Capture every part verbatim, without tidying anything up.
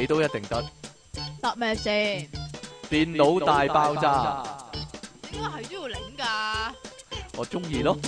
你都一定得。 得咩先？ 電腦大爆炸， 點解係都要領噶？ 我中意咯。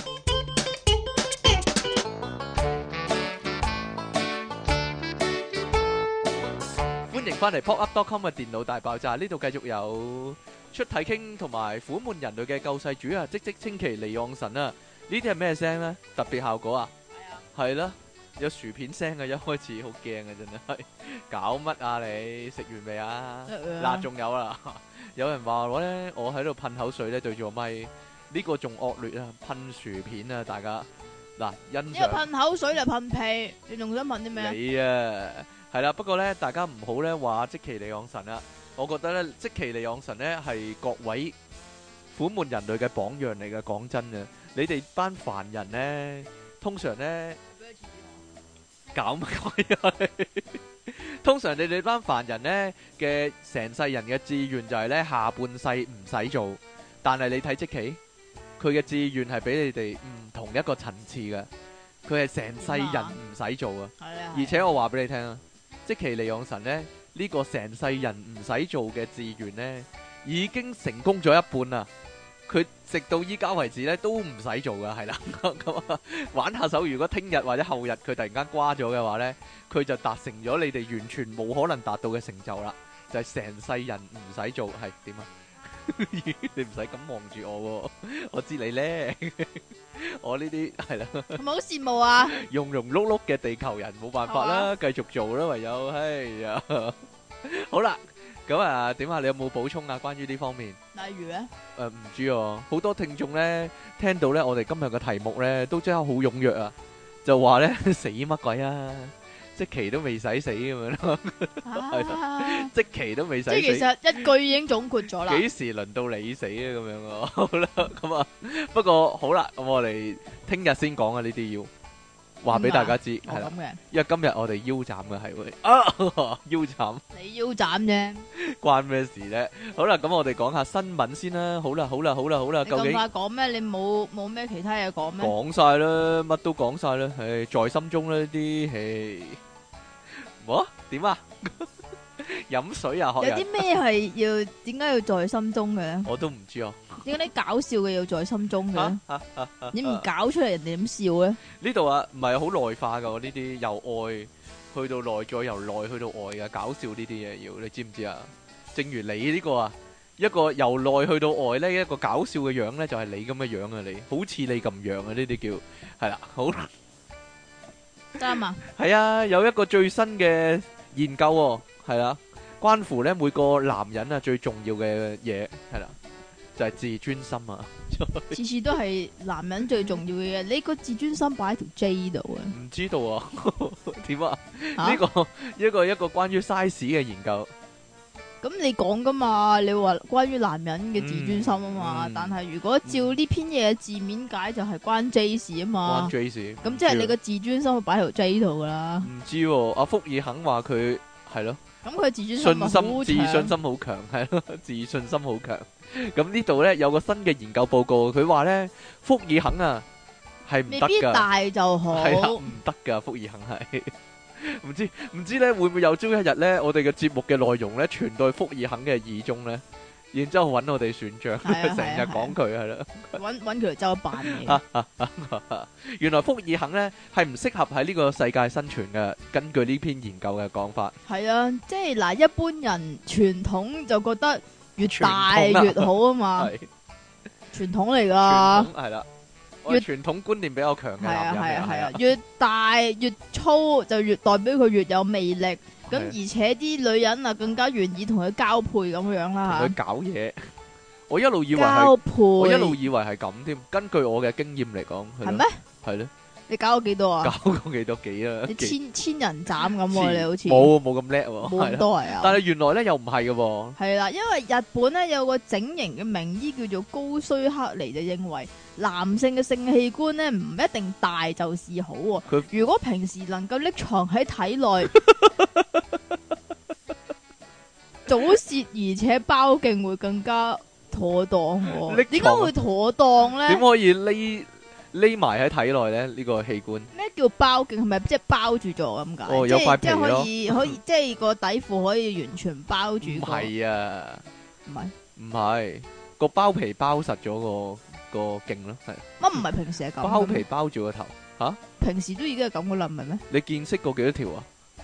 歡迎翻嚟 pop up dot com 嘅電腦大爆炸，呢度繼續有出體傾同埋苦悶人類嘅救世主啊！即即稱其離岸神啊！呢啲係咩聲咧？特別效果啊？ 係啊， 係啦，有薯片聲啊！一開始好驚啊，真係搞乜啊你？食完未啊？嗱，仲有啦，有人話我咧，我喺度噴口水咧對住個咪，呢個仲惡劣啊！噴薯片啊，大家嗱欣因為賞噴口水就噴屁，你仲想噴啲咩啊？ 你啊，係啦，不過咧，大家唔好咧話積淇離岸神啊！我覺得咧，積淇離岸神咧係各位苦悶人類嘅榜樣嚟嘅。講真啊，你哋班凡人咧，通常咧搞乜鬼啊？通常你哋班凡人咧嘅成世人嘅志願就係咧下半世唔使做，但係你睇積淇，佢嘅志願係比你哋唔同一個層次嘅，佢係成世人唔使做啊！ 係啊， 而且我話俾你聽啊，積淇離岸神咧呢個成世人唔使做嘅志願咧，已經成功咗一半啦。佢直到依家為止咧都唔使做噶，係啦。咁啊，玩下手，如果聽日或者後日佢突然間瓜咗嘅話咧，佢就達成咗你哋完全冇可能達到嘅成就啦，就係成世人唔使做，係點啊？你唔使咁望住我喎，我知你咧。我呢啲係啦， 係咪好羨慕啊？ 庸庸碌碌嘅地球人冇辦法啦，繼續做啦，唯有，哎呀，好啦，咁啊，點啊？你有冇補充啊？關於呢方面， 例如咧， 誒，唔知啊，好多聽眾咧聽到咧我哋今日嘅題目咧，都真係好踴躍啊，就話咧死乜鬼啊！積淇都未使死咁樣咯，係啦，積淇都未使死。 即係其實一句已經總括咗啦。 幾時輪到你死啊？咁樣啊，好啦，咁啊，不過好啦，咁我哋聽日先講啊，呢啲要話俾大家知，係啦，因為今日我哋腰斬嘅係會啊腰斬， 你腰斬啫， 關咩事咧？好啦，咁我哋講下新聞先啦。好啦，好啦，好啦，好啦，究竟你咁快講咩？你冇冇咩其他嘢講咩？ 講晒啦，乜都講晒啦，唉，在心中呢啲，唉，我點啊？飲水啊，學人有啲咩係要點解要在心中嘅咧？ 我都唔知啊。 點解啲搞笑嘅要在心中嘅？你唔搞出嚟，人哋點笑咧？ 呢度啊，唔係好內化噶，呢啲由外去到內，再由內去到外嘅搞笑呢啲嘢要，你知唔知啊？正如你呢個啊，一個由內去到外咧，一個搞笑嘅樣咧，就係你咁嘅樣啊，你好似你咁樣啊，呢啲叫係啦，好啱啊！ 係啊，有一個最新嘅研究喎，係啦，關乎咧每個男人啊最重要嘅嘢係啦，就係自尊心啊！ 次次都係男人最重要嘅嘢，你個自尊心擺喺條 J 度啊？ 唔知道啊？點啊？呢個一個一個關於 size 嘅研究。 咁你講噶嘛？你話關於男人嘅自尊心啊嘛？ 嗯嗯、 但係如果照呢篇嘢嘅字面解，就係關 J 事啊嘛。 關 J 事。 咁即係你個自尊心擺喺條 J 度噶啦。 唔知喎、啊，阿福爾肯話佢係咯。 咁佢自尊心信心自信心好強，係咯，自信心好強。咁呢度咧有個新嘅研究報告，佢話咧福爾肯啊係唔得噶， 未必大就好， 係啦，唔得噶，福爾肯係。唔知唔知咧會唔會有朝一日咧，我哋嘅節目嘅內容咧傳到福爾肯嘅耳中咧，然之後揾我哋選將，成日講佢係啦， 揾揾佢嚟周扮嘢。 原來福爾肯咧係唔適合喺呢個世界生存嘅，根據呢篇研究嘅講法。 係啊，即係嗱，一般人傳統就覺得越大越好啊嘛，傳統嚟噶， 係啦。越傳統觀念比較強嘅男人， 係啊係啊，越大越粗就越代表佢越有魅力，咁而且啲女人啊更加願意同佢交配咁樣啦嚇。佢搞嘢，我一路以為交配， 我一路以為係咁添。根據我嘅經驗嚟講， 係咩？ 係咧。 你搞咗幾多啊？ 搞過幾多幾啊？ 你千千人斬咁喎，你好似冇冇咁叻喎， 冇咁多係啊！ 但係原來咧又唔係嘅喎。 係啦，因為日本咧有個整形嘅名醫叫做高須克尼，就認為男性嘅性器官咧唔一定大就是好喎。佢如果平時能夠匿藏喺體內，早泄而且包莖會更加妥當喎。點解會妥當咧？ 點可以匿？ 匿埋喺體內咧？呢個器官咩叫包莖？係咪即係包住咗咁解？ 哦有塊皮即係可咯以可以，即係個底褲可以完全包住唔個。 係啊， 唔係唔係個包皮包實咗個個莖咯，係乜唔係平時係咁嘅咩？ 包皮包住個頭吓。 平時都已經係咁噶啦，唔係咩？ 你見識過幾多條啊？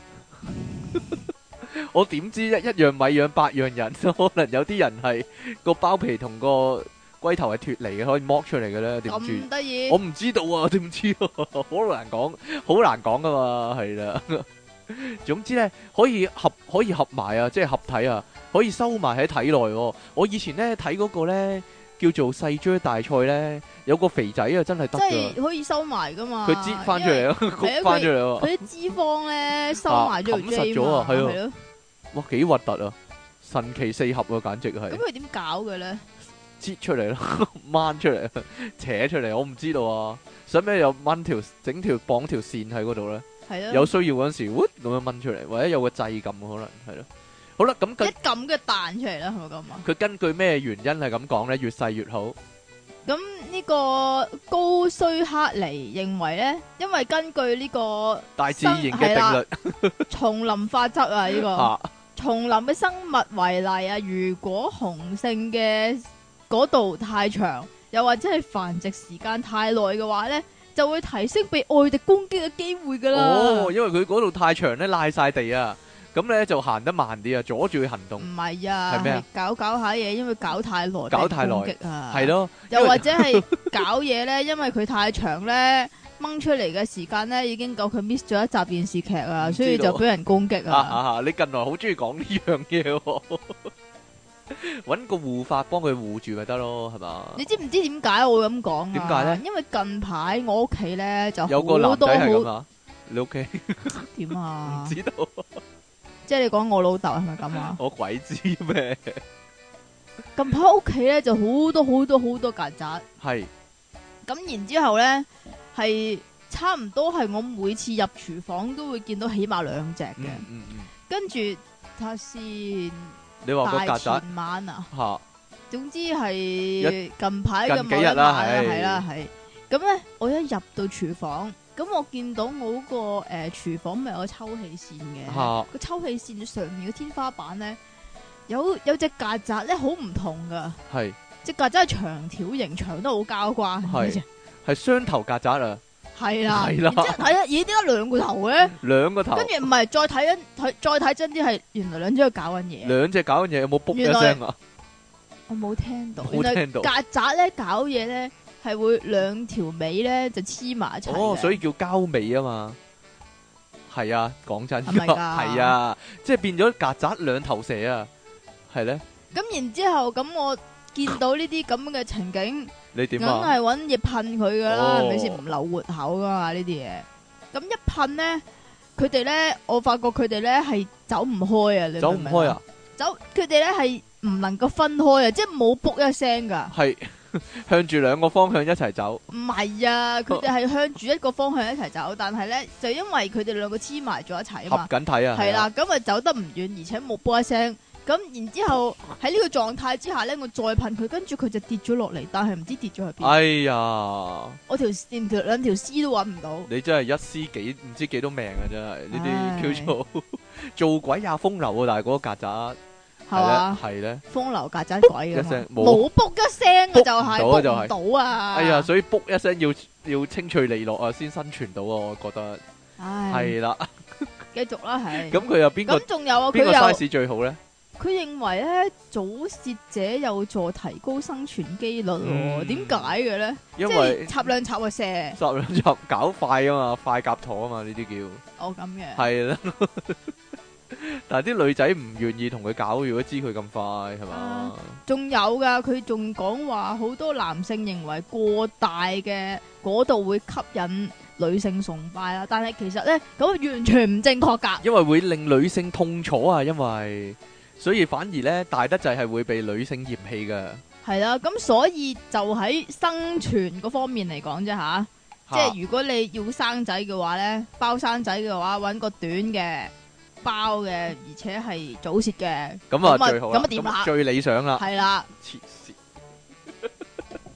我點知一一樣米養百樣人，可能有啲人係個包皮同個龜頭係脫離嘅，可以剝出嚟嘅咧，點知？ 咁得意我？唔知道啊，點知啊？好難講，好難講噶嘛，係啦。總之咧，可以合可以合埋啊，即係合體啊，可以收埋喺體內喎。我以前咧睇嗰個咧叫做細張大賽咧，有個肥仔啊，真係得即噶， 係可以收埋噶嘛？ 佢擠翻出嚟啊， 係啊焗翻出嚟啊， 佢啲脂肪咧收埋咗條啊冚實 J 咗啊嘛， 係啊係咯。 哇，幾核突啊！神奇四合啊，簡直係咁佢點搞嘅咧？ 擠出嚟咯，掹出嚟，扯出嚟，我唔知道啊。使唔使有掹條整條綁條線喺嗰度咧？ 係咯。 有需要嗰陣時，咁樣掹出嚟，或者有個掣撳，可能係咯。好啦，咁一佢撳嘅彈出嚟啦，係咪咁啊？ 佢根據咩原因係咁講咧？越細越好。 咁呢個高須克尼認為咧，因為根據呢個大自然嘅定律叢林法則啊，呢、個啊， 叢林嘅生物為例啊，如果雄性嘅嗰度太長，又或者係繁殖時間太耐嘅話咧，就會提升被外敵攻擊嘅機會噶啦。 哦，因為佢嗰度太長咧，賴晒地啊，咁咧就行得慢啲啊，阻住佢行動。 唔係啊， 係咩啊？ 係搞搞下嘢，因為搞太耐， 搞太耐被攻擊啊， 係咯， 又或者係搞嘢咧，因為佢太長咧，掹出嚟嘅時間咧已經夠佢 miss 咗一集電視劇啊， 唔知道所以就俾人攻擊啊啊。 啊！你近來好中意講呢樣嘢喎，揾個護法幫佢護住咪得咯，係嘛？ 你知唔知點解我會咁講啊？ 點解咧？ 因為近排我屋企咧就有個好多男仔係咁好啊，你屋企點啊唔？知道， 即係你講我老豆係咪咁啊？ 我鬼知咩？ 近排屋企咧就好多好多好多曱甴， 係咁然之後咧係差唔多係我每次入廚房都會見到起碼兩隻嘅， 嗯嗯嗯， 跟住睇下先。 你話個大曱甴前晚啊， 嚇總之係近排嘅近幾日啦某一晚啊係係啦係。咁咧，我一入到廚房，咁我見到我嗰、個誒、呃、廚房咪有個抽氣扇嘅， 嚇個抽氣扇上面嘅天花板咧有有隻曱甴咧好唔同噶， 係隻曱甴係長條形，長得好交關係嘅啫， 係雙頭曱甴啊， 係啦， 係啦然之後睇下，咦點解兩個頭嘅？ 兩個頭， 跟住唔係再睇緊睇再睇真啲係原來兩隻喺度搞緊嘢， 兩隻搞緊嘢，有冇卜一原來聲啊？ 我冇聽到， 冇聽到原來曱甴咧搞嘢咧係會兩條尾咧就黐埋一齊嘅。 哦，所以叫交尾啊嘛。係啊，講真， 係咪㗎係啊，即係變咗曱甴兩頭蛇啊，係咧， 咁然之後咁我見到呢啲咁嘅情景，梗你點啊？ 係揾嘢噴佢噶啦， 哦係咪先？唔留活口噶嘛呢啲嘢。咁一噴咧，佢哋咧，我發覺佢哋咧係走唔開啊！你走明明唔開啊？？ 走，佢哋咧係唔能夠分開啊，即係冇卜一聲噶。 係向住兩個方向一齊走， 唔係啊，佢哋係向住一個方向一齊走，但係咧就因為佢哋兩個黐埋咗一齊啊合嘛， 緊睇啊， 係啦，咁啊走得唔遠，而且冇卜一聲。咁然之後喺呢個狀態之下咧，我再噴佢，跟住佢就跌咗落嚟，但係唔知跌咗去邊。 哎呀， 我條連條兩條絲都揾唔到。 你真係一屍幾唔知幾多命啊！真係呢唉啲叫做做鬼也風流啊！但係嗰個曱甴係嘛？ 係咧， 風流曱甴鬼一㗎嘛聲冇冇卜一聲啊，就係卜唔到啊就係卜唔到啊！ 哎呀，所以卜一聲要要清脆利落啊，先生存到啊！我覺得唉， 係啦。 繼續啦，係。 咁佢有邊個咁仲有啊？佢邊個又 size 最好咧？ 佢認為咧，早泄者有助提高生存機率喎。 嗯點解嘅咧？ 因即為係插兩插就射。 十兩集搞快啊嘛，快夾陀啊嘛，呢啲叫哦咁嘅。 係啦。但係啲女仔唔願意同佢搞，如果知佢咁快係嘛啊？仲有噶，佢仲講話好多男性認為過大嘅嗰度會吸引女性崇拜啦，但係其實咧咁完全唔正確㗎。 因為會令女性痛楚啊，因為所以反而咧大得滯係會被女性嫌棄㗎。 係啦，咁所以就喺生存嗰方面嚟講啫吓，即係如果你要生仔嘅話咧，包生仔嘅話揾個短嘅包嘅，而且係早泄嘅， 咁啊最好啦， 咁啊點啦？ 最理想啦。 係啦， 黐線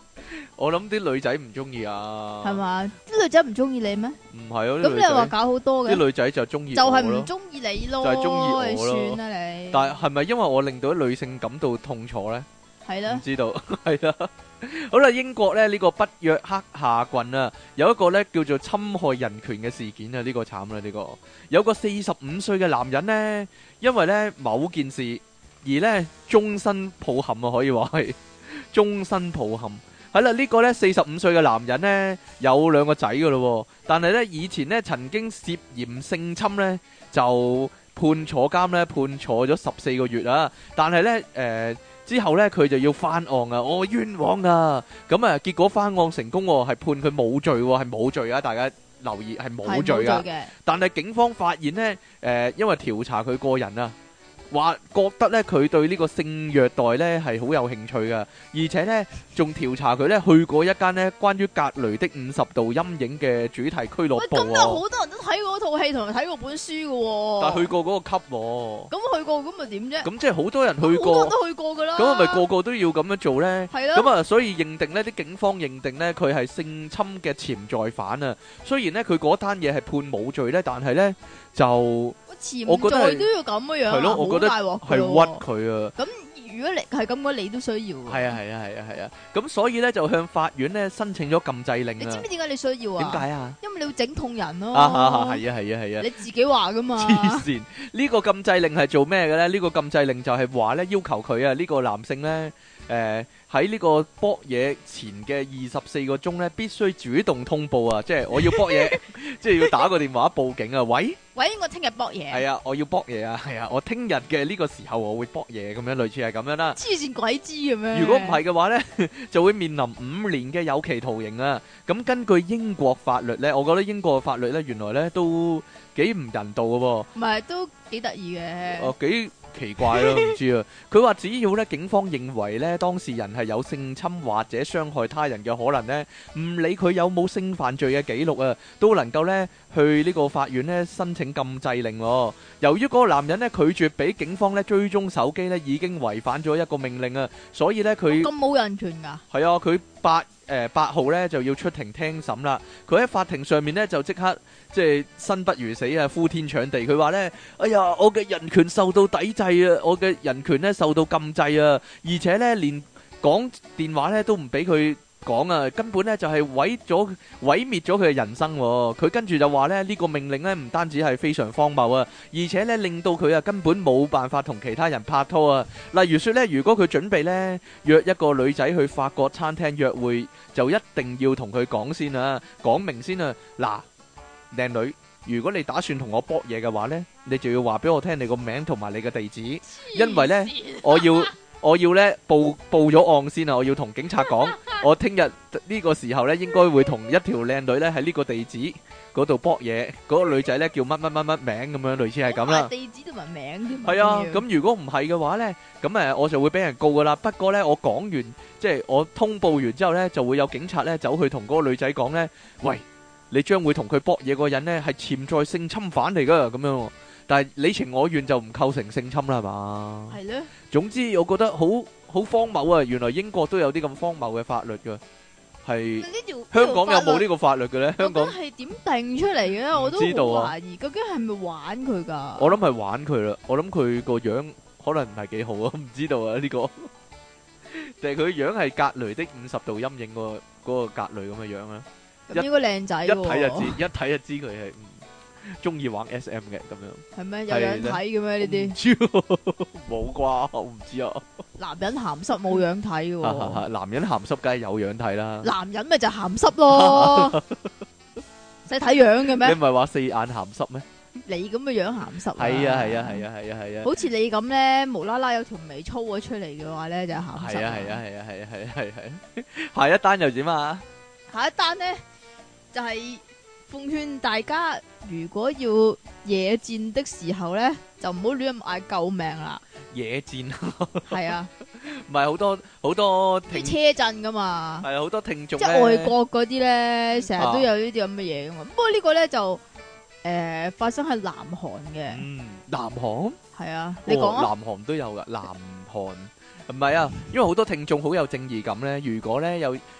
我諗啲女仔唔中意啊， 係嘛？啲女仔唔中意你咩？ 唔係啊， 咁你又話搞好多嘅， 啲女仔就中意就係我咯， 唔中意你咯， 就係中意我咯算啦你。 但係係咪因為我令到啲女性感到痛楚咧？ 係啦唔，知道，係啦。好啦，英國咧呢個北約克夏郡啊，有一個咧叫做侵害人權嘅事件啊，呢個慘啦呢個，有個四十五歲嘅男人呢，因為咧某件事而咧終身抱憾啊，可以話係終身抱憾。係啦，呢個咧四十五歲嘅男人呢，有兩個仔噶咯，但係咧以前咧曾經涉嫌性侵咧就判坐監咧，判坐咗十四個月啊，但係咧誒。之後咧，佢就要翻案啊！我、哦、冤枉啊！咁啊，結果翻案成功喎，係判佢冇罪喎，係冇罪啊！大家留意係冇罪噶。但係警方發現呢，誒、呃，因為調查佢個人啊，話覺得咧佢對呢個性虐待咧係好有興趣噶，而且咧仲調查佢咧去過一間咧關於格雷的五十度陰影嘅主題俱樂部。 咁有好多人都睇過套戲同埋睇過本書噶喎。 但係去過嗰個級喎。 咁去過咁咪點啫？ 咁即係好多人去過。 好多人都去過噶啦。 咁係咪個個都要咁樣做咧？ 係咯。 咁啊，所以認定咧，啲警方認定咧佢係性侵嘅潛在犯啊。雖然咧佢嗰單嘢係判冇罪咧，但係咧就。我覺得都要咁嘅樣， 係咯，我覺得係屈佢啊。 咁如果你係咁嘅，你都需要。 係啊係啊係啊係啊。咁所以咧就向法院咧申請咗禁制令啊。 你知唔知點解你需要啊？ 點解啊？ 因為你要整痛人咯。 啊係啊係啊係啊。 你自己話噶嘛？ 黐線！呢個禁制令係做咩嘅咧？呢個禁制令就係話咧要求佢啊呢個男性咧誒。喺呢個搏嘢前嘅二十四個鐘咧，必須主動通報啊！即係我要搏嘢，即係要打個電話報警啊！喂喂，我聽日搏嘢。係啊，我要搏嘢啊！係啊，我聽日嘅呢個時候我會搏嘢咁樣，類似係咁樣啦。 黐線鬼知嘅咩？ 如果唔係嘅話咧，就會面臨五年嘅有期徒刑啊！咁根據英國法律咧，我覺得英國法律咧原來咧都幾唔人道嘅喎。唔係，都幾得意嘅。 哦，幾奇怪咯，唔知啊。佢話只要咧警方認為咧當事人係有性侵或者傷害他人嘅可能咧，唔理佢有冇性犯罪嘅記錄啊，都能夠咧去呢個法院咧申請禁制令。由於嗰個男人咧拒絕俾警方咧追蹤手機咧，已經違反咗一個命令啊，所以咧佢咁冇人權噶。 係啊，佢八誒八號咧就要出庭聽審啦。佢喺法庭上面咧就即刻即係生不如死啊，呼天搶地。佢話咧：哎呀，我嘅人權受到抵制啊，我嘅人權咧受到禁制啊，而且咧連講電話咧都唔俾佢講啊，根本咧就係毀咗毀滅咗佢嘅人生。佢跟住就話咧呢個命令咧唔單止係非常荒謬啊，而且咧令到佢啊根本冇辦法同其他人拍拖啊。例如說咧，如果佢準備咧約一個女仔去法國餐廳約會，就一定要同佢講先啊，講明先啊。嗱，靚女，如果你打算同我搏嘢嘅話咧，你就要話俾我聽你個名同埋你嘅地址，因為咧我要。我要咧報報咗案先啊！我要同警察講，我聽日呢個時候咧應該會同一條靚女咧喺呢個地址嗰度搏嘢，嗰個女仔咧叫乜乜乜乜名咁樣，類似係咁啦。 地址同埋名添。 係啊，咁如果唔係嘅話咧，咁誒我就會俾人告噶啦。不過咧，我講完即係我通報完之後咧，就會有警察咧走去同嗰個女仔講咧，喂，你將會同佢搏嘢嗰個人咧係潛在性侵犯嚟噶，咁樣。但係你情我願就唔構成性侵啦，係嘛？係咧。總之我覺得好好荒謬啊！原來英國都有啲咁荒謬嘅法律噶，係香港有冇呢個法律嘅咧？香港係點定出嚟嘅咧？我都好懷疑，究竟係咪玩佢噶？ 我諗係玩佢啦，我諗佢個樣可能唔係幾好啊，唔知道啊呢個。定係佢樣係格雷的五十度陰影個嗰個格雷咁嘅樣啊？ 咁應該靚仔， 一睇就知，一睇就知佢係。中意玩 S M 嘅咁樣， 係咩？有樣睇嘅咩呢啲？ 冇啩，我唔知啊。 男人鹹濕冇樣睇嘅， 男人鹹濕梗係有樣睇啦。 男人咪就鹹濕咯，使睇樣嘅咩？ 你唔係話四眼鹹濕咩？ 你咁嘅樣鹹濕。 係啊係啊係啊係啊係啊！ 好似你咁咧，無啦啦有條眉粗咗出嚟嘅話咧，就鹹濕。 係啊係啊係啊係啊係啊係啊！下一單又點啊？ 下一單咧就係。奉勸大家，如果要野戰的時候咧，就唔好亂咁嗌救命啦。 野戰係啊， 唔係好多好多啲車震噶嘛， 係啊，好多聽眾即係外國嗰啲咧，成日都有呢啲咁嘅嘢噶嘛。不過呢個咧就誒發生喺南韓嘅。 嗯，南韓係啊，你講啊， 南韓都有噶，南韓唔係啊，因為好多聽眾好有正義感咧。如果咧有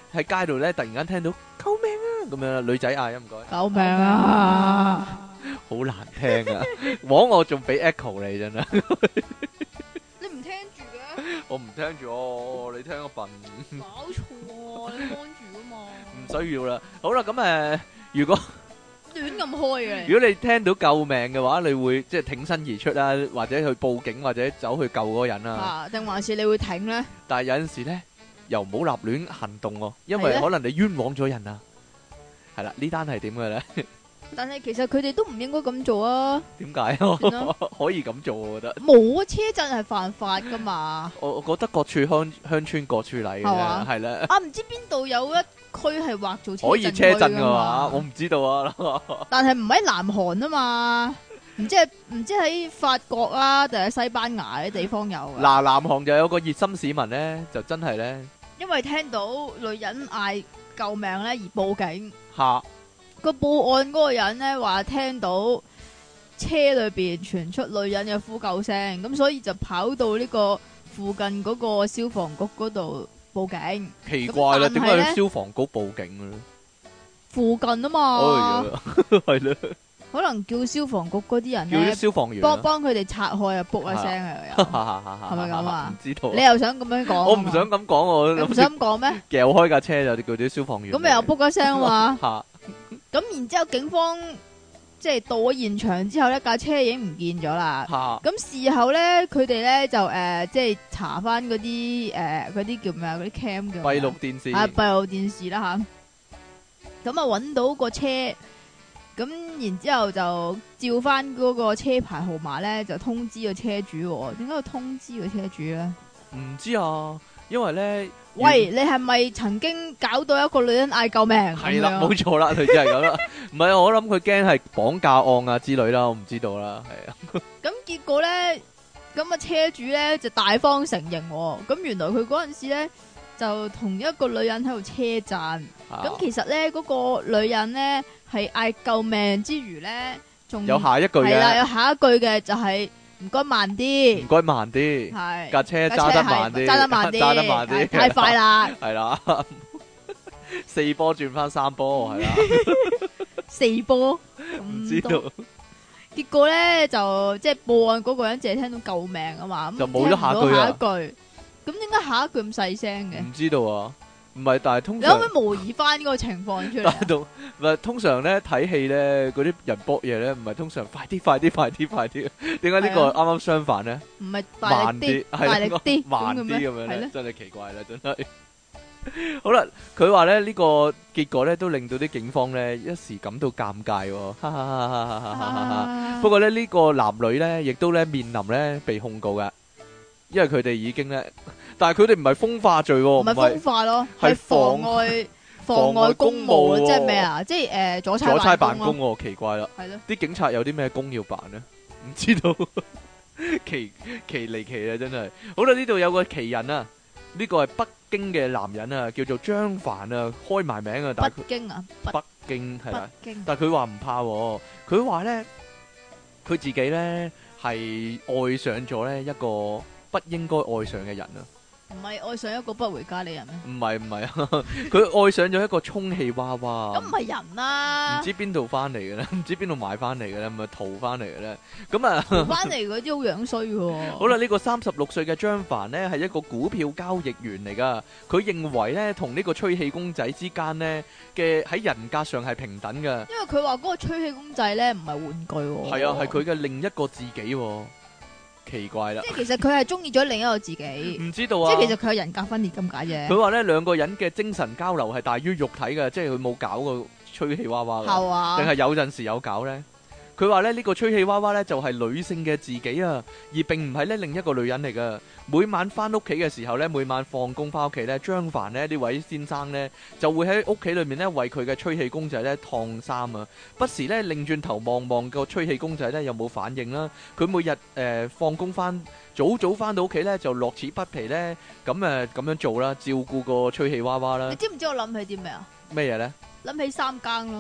喺街度咧突然間聽到救命啊咁樣，女仔嗌，唔該， 救命啊！ 好難聽啊！枉我仲俾 echo 你真係， 你唔聽住嘅？ 我唔聽住哦，你聽個笨， 搞錯啊！你幫住啊嘛。 唔需要啦。好啦，咁誒，如果亂咁開嘅。 如果你聽到救命嘅話，你會即係挺身而出啦，或者去報警，或者走去救嗰個人啦。 啊，定還是你會挺咧？ 但係有陣時咧，又唔好立亂行動喎，因為可能你冤枉咗人啊。係啦，呢單係點嘅咧？ 但係其實佢哋都唔應該咁做啊。 點解？ 算啦可以咁做，我覺得。 冇啊，車震係犯法噶嘛。 我我覺得各處鄉鄉村各處例嘅啫， 係嘛係啦。 啊，唔知邊度有一區係劃做車可以車震嘅㗎話，我唔知道啊。 但係唔喺南韓啊嘛，唔知係唔知喺法國啊，定係西班牙啲地方有啊。 嗱，南韓就有個熱心市民咧，就真係咧因為聽到女人嗌救命咧而報警。 嚇。 個報案嗰個人咧話聽到車裏邊傳出女人嘅呼救聲，咁所以就跑到呢個附近嗰個消防局嗰度報警。 奇怪啦，點解咁但係呢要消防局報警嘅咧？ 附近啊嘛， 哎呀，係咧， 可能叫消防局嗰啲人叫啲咧消防員啊。 幫幫佢哋拆開啊，卜一聲啊，又係咪咁啊唔知道啊。 你又想咁樣講啊嘛？ 我唔想咁講，我你唔想咁講咩？ 撬開架車就叫啲消防員嚟。 咁你又卜一聲啊嘛？ 嚇咁然之後警方即係到咗現場之後呢，架車已經唔見咗啦。 嚇咁事後咧，佢哋咧就誒、呃，即係查翻嗰啲誒，嗰啲叫咩啊？嗰啲 cam 嘅閉路電視啊，閉路電視啦吓。咁啊，揾到個車，咁然之後就照翻嗰個車牌號碼咧，就通知個車主喎。點解要通知個車主咧？ 唔知啊，因為咧， 喂，你係咪曾經搞到一個女人嗌救命？ 係啦， 咁樣冇錯啦，佢就係咁啦。唔係啊，我諗佢驚係綁架案啊之類啦，我唔知道啦，係啊。 咁結果咧，咁啊車主咧就大方承認喎。咁原來佢嗰陣時咧就同一個女人喺度車震。咁、 啊其實咧嗰、個女人咧係嗌救命之餘咧，仲有下一句係啦，有嘅， 下一句嘅就係唔該慢啲唔，該慢啲， 係架車揸得慢啲， 揸得慢啲， 揸得慢啲， 太快啦， 係啦，四波轉翻三波，係啦， 四波， 唔唔知道結果咧就即係報案嗰個人淨係聽到救命啊嘛，咁就冇咗下句啊聽唔到下一句。咁點解下一句咁細聲嘅？ 唔知道啊，唔係，但係通你可唔常可以模擬翻嗰個情況出嚟啊？ 但係同唔係通常咧睇戲咧嗰啲人搏嘢咧，唔係通常快啲快啲快啲快啲，點解呢個係啊啱啱相反咧？ 唔係大慢啲力啲，， 係大力啲， 慢啲咁樣係咧， 咧。 真係奇怪啦，真係。好啦，佢話咧呢個結果咧都令到啲警方咧一時感到尷尬喎，哈哈哈哈哈哈哈哈。 啊不過咧呢個男女咧亦都咧面臨咧被控告噶，因為佢哋已經咧，但係佢哋唔係風化罪喎， 唔係唔係風化咯， 係係妨礙妨礙公務咯， 妨礙公務喎即係咩啊？即係誒阻阻差差辦公辦公咯， 喎，奇怪啦。 係咯。 啲警察有啲咩工要辦呢？唔知道，奇奇離奇啊！真係。好啦，呢度有個奇人啊，呢個係北京嘅男人啊，叫做張凡啊，開埋名啊，但係北京啊，北佢北京係啦， 北京但係佢話唔怕喎，佢話咧佢自己咧係愛上咗咧一個不應該愛上嘅人啊。 唔係愛上一個不回家嘅人咩？ 唔係唔係啊，佢愛上咗一個充氣娃娃。 咁唔係人啦唔，知邊度翻嚟嘅咧，唔知邊度買翻嚟嘅咧，咪淘翻嚟嘅咧。咁啊， 翻嚟嗰啲好樣衰喎。 好啦，呢個三十六歲嘅張凡呢，係一個股票交易員嚟噶。佢認為呢，同呢個吹氣公仔之間呢嘅喺人格上係平等嘅。 因為佢話嗰個吹氣公仔咧唔係玩具喎。 係啊，係佢嘅另一個自己喎。奇怪啦， 即係其實佢係中意咗另一個自己， 唔知道啊。 即係其實佢係人格分裂咁解啫。 佢話呢兩個人嘅精神交流係大於肉體嘅，即係佢冇搞過吹氣娃娃㗎。 係啊， 定係有陣時有搞呢？佢話咧呢個吹氣娃娃呢，就係女性嘅自己啊，而並唔係咧另一個女人嚟噶。每晚翻屋企嘅時候呢，每晚放工翻屋企呢，張凡呢呢位先生呢，就會喺屋企裏面呢，為佢嘅吹氣公仔呢燙衫啊，不時呢，擰轉頭望望個吹氣公仔呢有冇反應啦。佢每日誒放工翻早早翻到屋企呢，就樂此不疲呢，咁誒咁樣做啦，照顧個吹氣娃娃啦你。知唔知我諗起啲咩啊？ 咩嘢呢？ 諗起三更咯。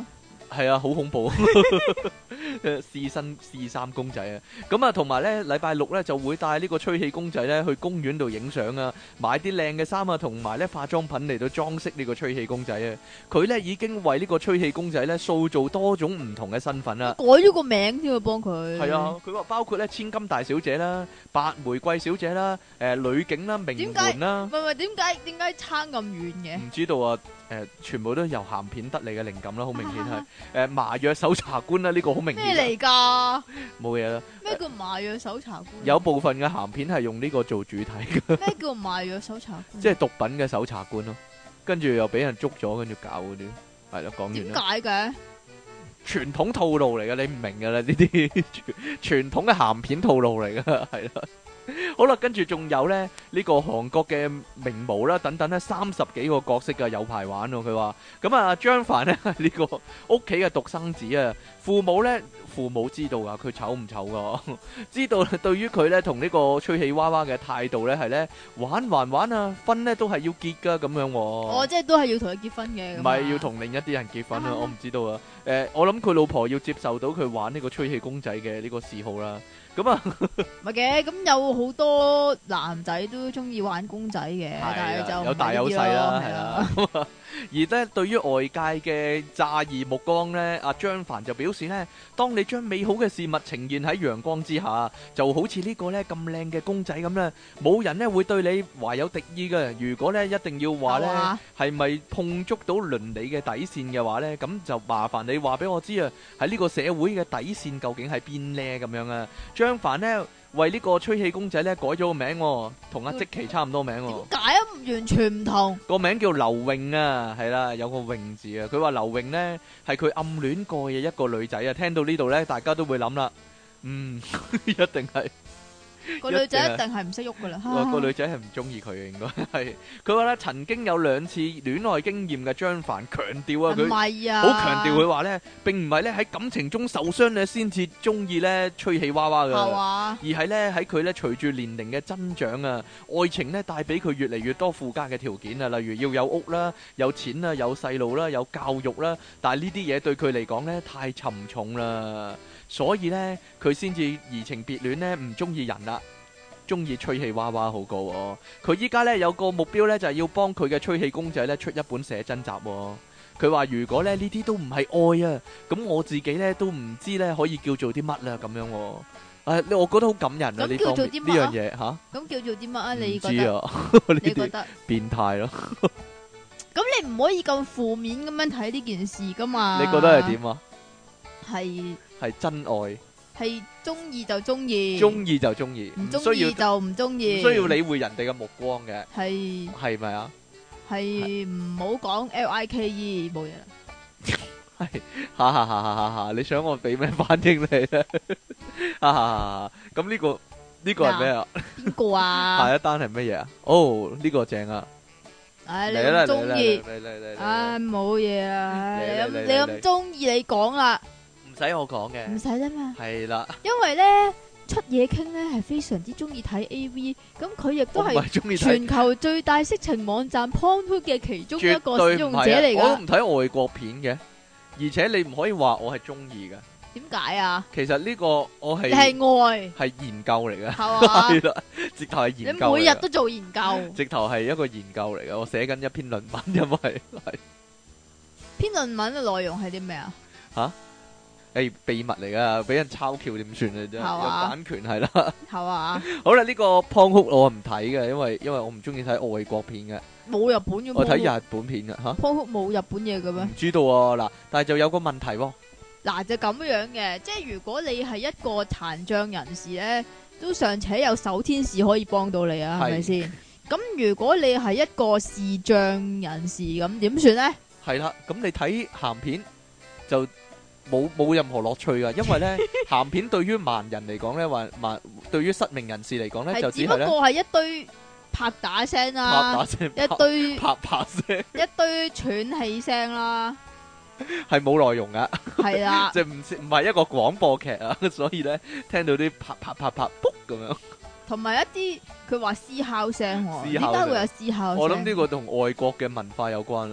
係啊，好恐怖，試身試衫公仔啊！咁啊，同埋咧，禮拜六咧就會帶呢個吹氣公仔咧去公園度影相啊，買啲靚嘅衫啊，同埋咧化妝品嚟到裝飾呢個吹氣公仔啊！佢咧已經為呢個吹氣公仔咧塑造多種唔同嘅身份啦， 改咗個名添啊，幫佢。 係啊，佢話包括咧千金大小姐啦、白玫瑰小姐啦、誒女警啦、名媛啦， 唔係唔係，點解點解差咁遠嘅？ 唔知道啊！誒，全部都由鹹片得嚟嘅靈感啦，好明顯係誒麻藥搜查官啦，呢個好明顯。 咩嚟㗎？ 冇嘢啦。 咩叫麻藥搜查官？ 有部分嘅鹹片係用呢個做主題嘅。 咩叫麻藥搜查官？ 即係毒品嘅搜查官咯，跟住又俾人捉咗，跟住搞嗰啲，係啦，講完點啦。 解嘅？ 傳統套路嚟嘅，你唔明㗎啦，呢啲傳統嘅鹹片套路嚟嘅，係啦。好啦，跟住仲有咧呢個韓國嘅名模啦，等等咧三十幾個角色嘅有排玩喎。佢話咁啊，張凡咧係呢個屋企嘅獨生子啊，父母咧父母知道啊，佢醜唔醜噶？知道對於佢咧同呢個吹氣娃娃嘅態度咧係咧玩還玩啊，婚咧都係要結噶咁樣。 哦，即係都係要同佢結婚嘅。 唔係要同另一啲人結婚啊？我唔知道啊。誒，我諗佢老婆要接受到佢玩呢個吹氣公仔嘅呢個嗜好啦。咁啊， 唔係嘅，咁有好多男仔都中意玩公仔嘅，但係就有大有細啦，係啦。而咧，對於外界嘅詐異目光咧，阿張凡就表示咧，當你將美好嘅事物呈現喺陽光之下，就好似呢個咧咁靚嘅公仔咁咧，冇人咧會對你懷有敵意嘅。如果咧一定要話咧，係咪碰觸到倫理嘅底線嘅話咧，咁就麻煩你話俾我知啊，喺呢個社會嘅底線究竟係邊咧？咁樣啊，張凡咧為呢個吹氣公仔咧改咗個名，同阿積淇差唔多名。 點解啊？完全唔同。個名叫劉穎啊，係啦，有個穎字啊。佢話劉穎咧係佢暗戀過嘅一個女仔啊。聽到呢度咧，大家都會諗啦，嗯，一定係。 個女仔一定係唔識喐噶啦， 個女仔係唔中意佢嘅，應該係。佢話咧曾經有兩次戀愛經驗嘅張凡強調啊，佢好強調佢話咧，並唔係咧喺感情中受傷咧先至中意咧吹氣娃娃噶，而係咧喺佢咧隨住年齡嘅增長啊，愛情咧帶俾佢越嚟越多附加嘅條件啊，例如要有屋啦、有錢啦、有細路啦、有教育啦，但係呢啲嘢對佢嚟講咧太沉重啦。所以咧，佢先至移情別戀咧，唔中意人啦，中意吹氣娃娃好過喎。佢依家咧有個目標咧，就係要幫佢嘅吹氣公仔咧出一本寫真集喎。佢話如果咧呢啲都唔係愛啊，咁我自己咧都唔知咧可以叫做啲乜啦咁樣喎。誒，我覺得好感人啊！呢方面呢樣嘢嚇，咁叫做啲乜啊？你覺得？ 唔知啊，你覺得變態咯？ 咁你唔可以咁負面咁樣睇呢件事噶嘛？ 你覺得係點啊？ 係。 係真愛，係中意就中意， 中意就中意， 唔中意就唔中意， 唔需要理會人哋嘅目光嘅， 係係咪啊？ 係唔好講 L I K E 冇嘢啦， 係哈哈哈哈哈！你想我俾咩反應你咧？哈哈，咁呢個呢個係咩啊？ 邊個啊？ 下一單係乜嘢啊？哦，呢個正啊！ 唉，你咁中意，唉，冇嘢啊！你咁你咁中意，你講啦。 唔使我講嘅， 唔使啦嘛。 係啦， 因為咧出嘢傾咧係非常之中意睇 A V，咁佢亦都係全球最大色情網站 Pornhub 嘅其中一個使用者嚟噶。 我都唔睇外國片嘅，而且你唔可以話我係中意噶。 點解啊？其實呢個我係你係愛， 係研究嚟嘅， 係啦，直頭係研究。 你每日都做研究， 直頭係一個研究嚟嘅。我寫緊一篇論文，因為係篇論文嘅內容係啲咩啊？ 吓？誒，秘密嚟噶，俾人抄橋點算啊？真係有版權係啦。 係嘛？ 好啦，呢個 Pornhub我唔睇嘅，因為因為我唔中意睇外國片嘅。 冇日本嘅。 我睇日本片嘅吓。 Pornhub冇日本嘢嘅咩？ 唔知道啊，嗱，但係就有個問題喎。 嗱，就咁樣嘅，即係如果你係一個殘障人士咧，都尚且有手天使可以幫到你啊，係咪先？咁如果你係一個視障人士，咁點算咧？係啦，咁你睇鹹片就冇冇任何樂趣噶，因為咧鹹片對於盲人嚟講咧，或盲對於失明人士嚟講咧，就只係咧，只不過係一堆拍打聲啦， 拍打聲， 一堆拍拍聲， 一堆喘氣聲啦。 係冇內容噶， 係啦， 即係唔唔係一個廣播劇啊，所以咧聽到啲啪啪啪啪卜咁樣， 同埋一啲佢話嘶哮聲，點解會有嘶哮聲？ 我諗呢個同外國嘅文化有關啦，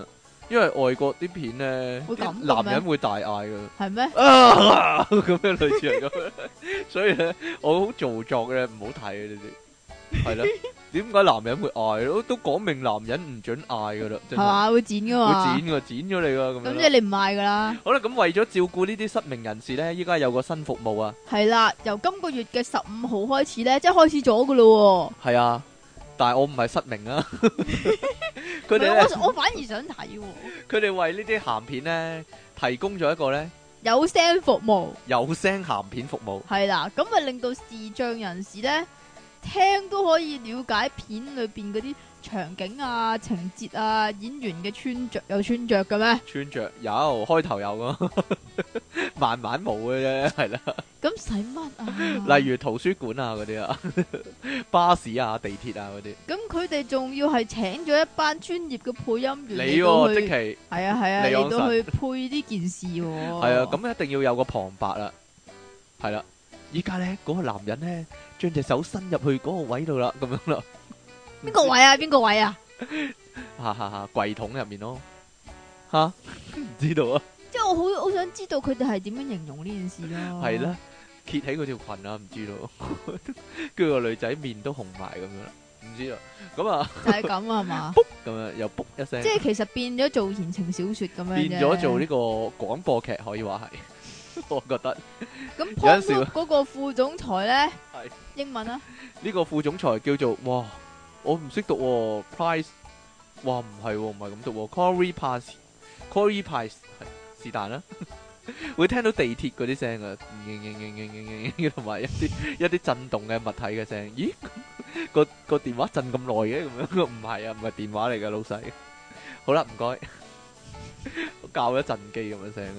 因為外國啲片咧， 會咁嘅咩啲男人會大嗌噶。 係咩？ 啊咁樣類似係咁樣，所以咧我好做作嘅，唔好睇啊！呢啲係啦，點解男人會嗌咯？都講明男人唔准嗌噶啦，真係係嘛？會剪噶嘛？ 會剪噶，剪咗你噶咁樣。 咁即係你唔嗌噶啦。 好啦，咁為咗照顧呢啲失明人士咧，依家有個新服務啊。 係啦，由今個月嘅十五號開始咧，即係開始咗噶咯。 係啊，但係我唔係失明啊。佢哋唔係咧， 我我反而想睇喎。 佢哋為呢啲鹹片咧提供咗一個咧有聲服務有聲鹹片服務。 係啦，咁咪令到視障人士咧聽都可以了解片裏邊嗰啲場景啊、情節啊、演員嘅穿着有穿着嘅咩？ 穿着有，開頭有噶，慢慢冇嘅啫，係啦。 咁使乜啊？ 例如圖書館啊嗰啲啊，巴士啊、地鐵啊嗰啲。 咁佢哋仲要係請咗一班專業嘅配音員你嚟到喎， 去， 即其係啊係啊， 離岸神嚟到去配呢件事喎。 係啊，咁一定要有個旁白啦，係啦。依家咧嗰個男人咧，將隻手伸入去嗰個位度啦，咁樣啦。 邊個位啊？邊個位啊？ 哈哈哈，櫃桶入面咯，吓唔知道啊。 即係我好好想知道佢哋係點樣形容呢件事咯。 係啦，揭起嗰條裙啊，唔知道。跟住個女仔面都紅埋咁樣啦，唔知道。咁啊， 就係咁啊嘛。 咁樣又卜一聲， 即係其實變咗做言情小說咁樣啫。 變咗做呢個廣播劇，可以話係。我覺得咁有陣時 Pornhub 嗰個副總裁咧， 係英文啊， 呢個副總裁叫做哇，我唔識讀喎，Price，哇唔係喎，唔係咁讀喎，Corey Price，Corey Price 係是但啦，會聽到地鐵嗰啲聲啊，同埋一啲一啲震動嘅物體嘅聲，咦個個電話震咁耐嘅咁樣，唔係啊，唔係電話嚟㗎老細，好啦唔該。教咗震機咁嘅聲，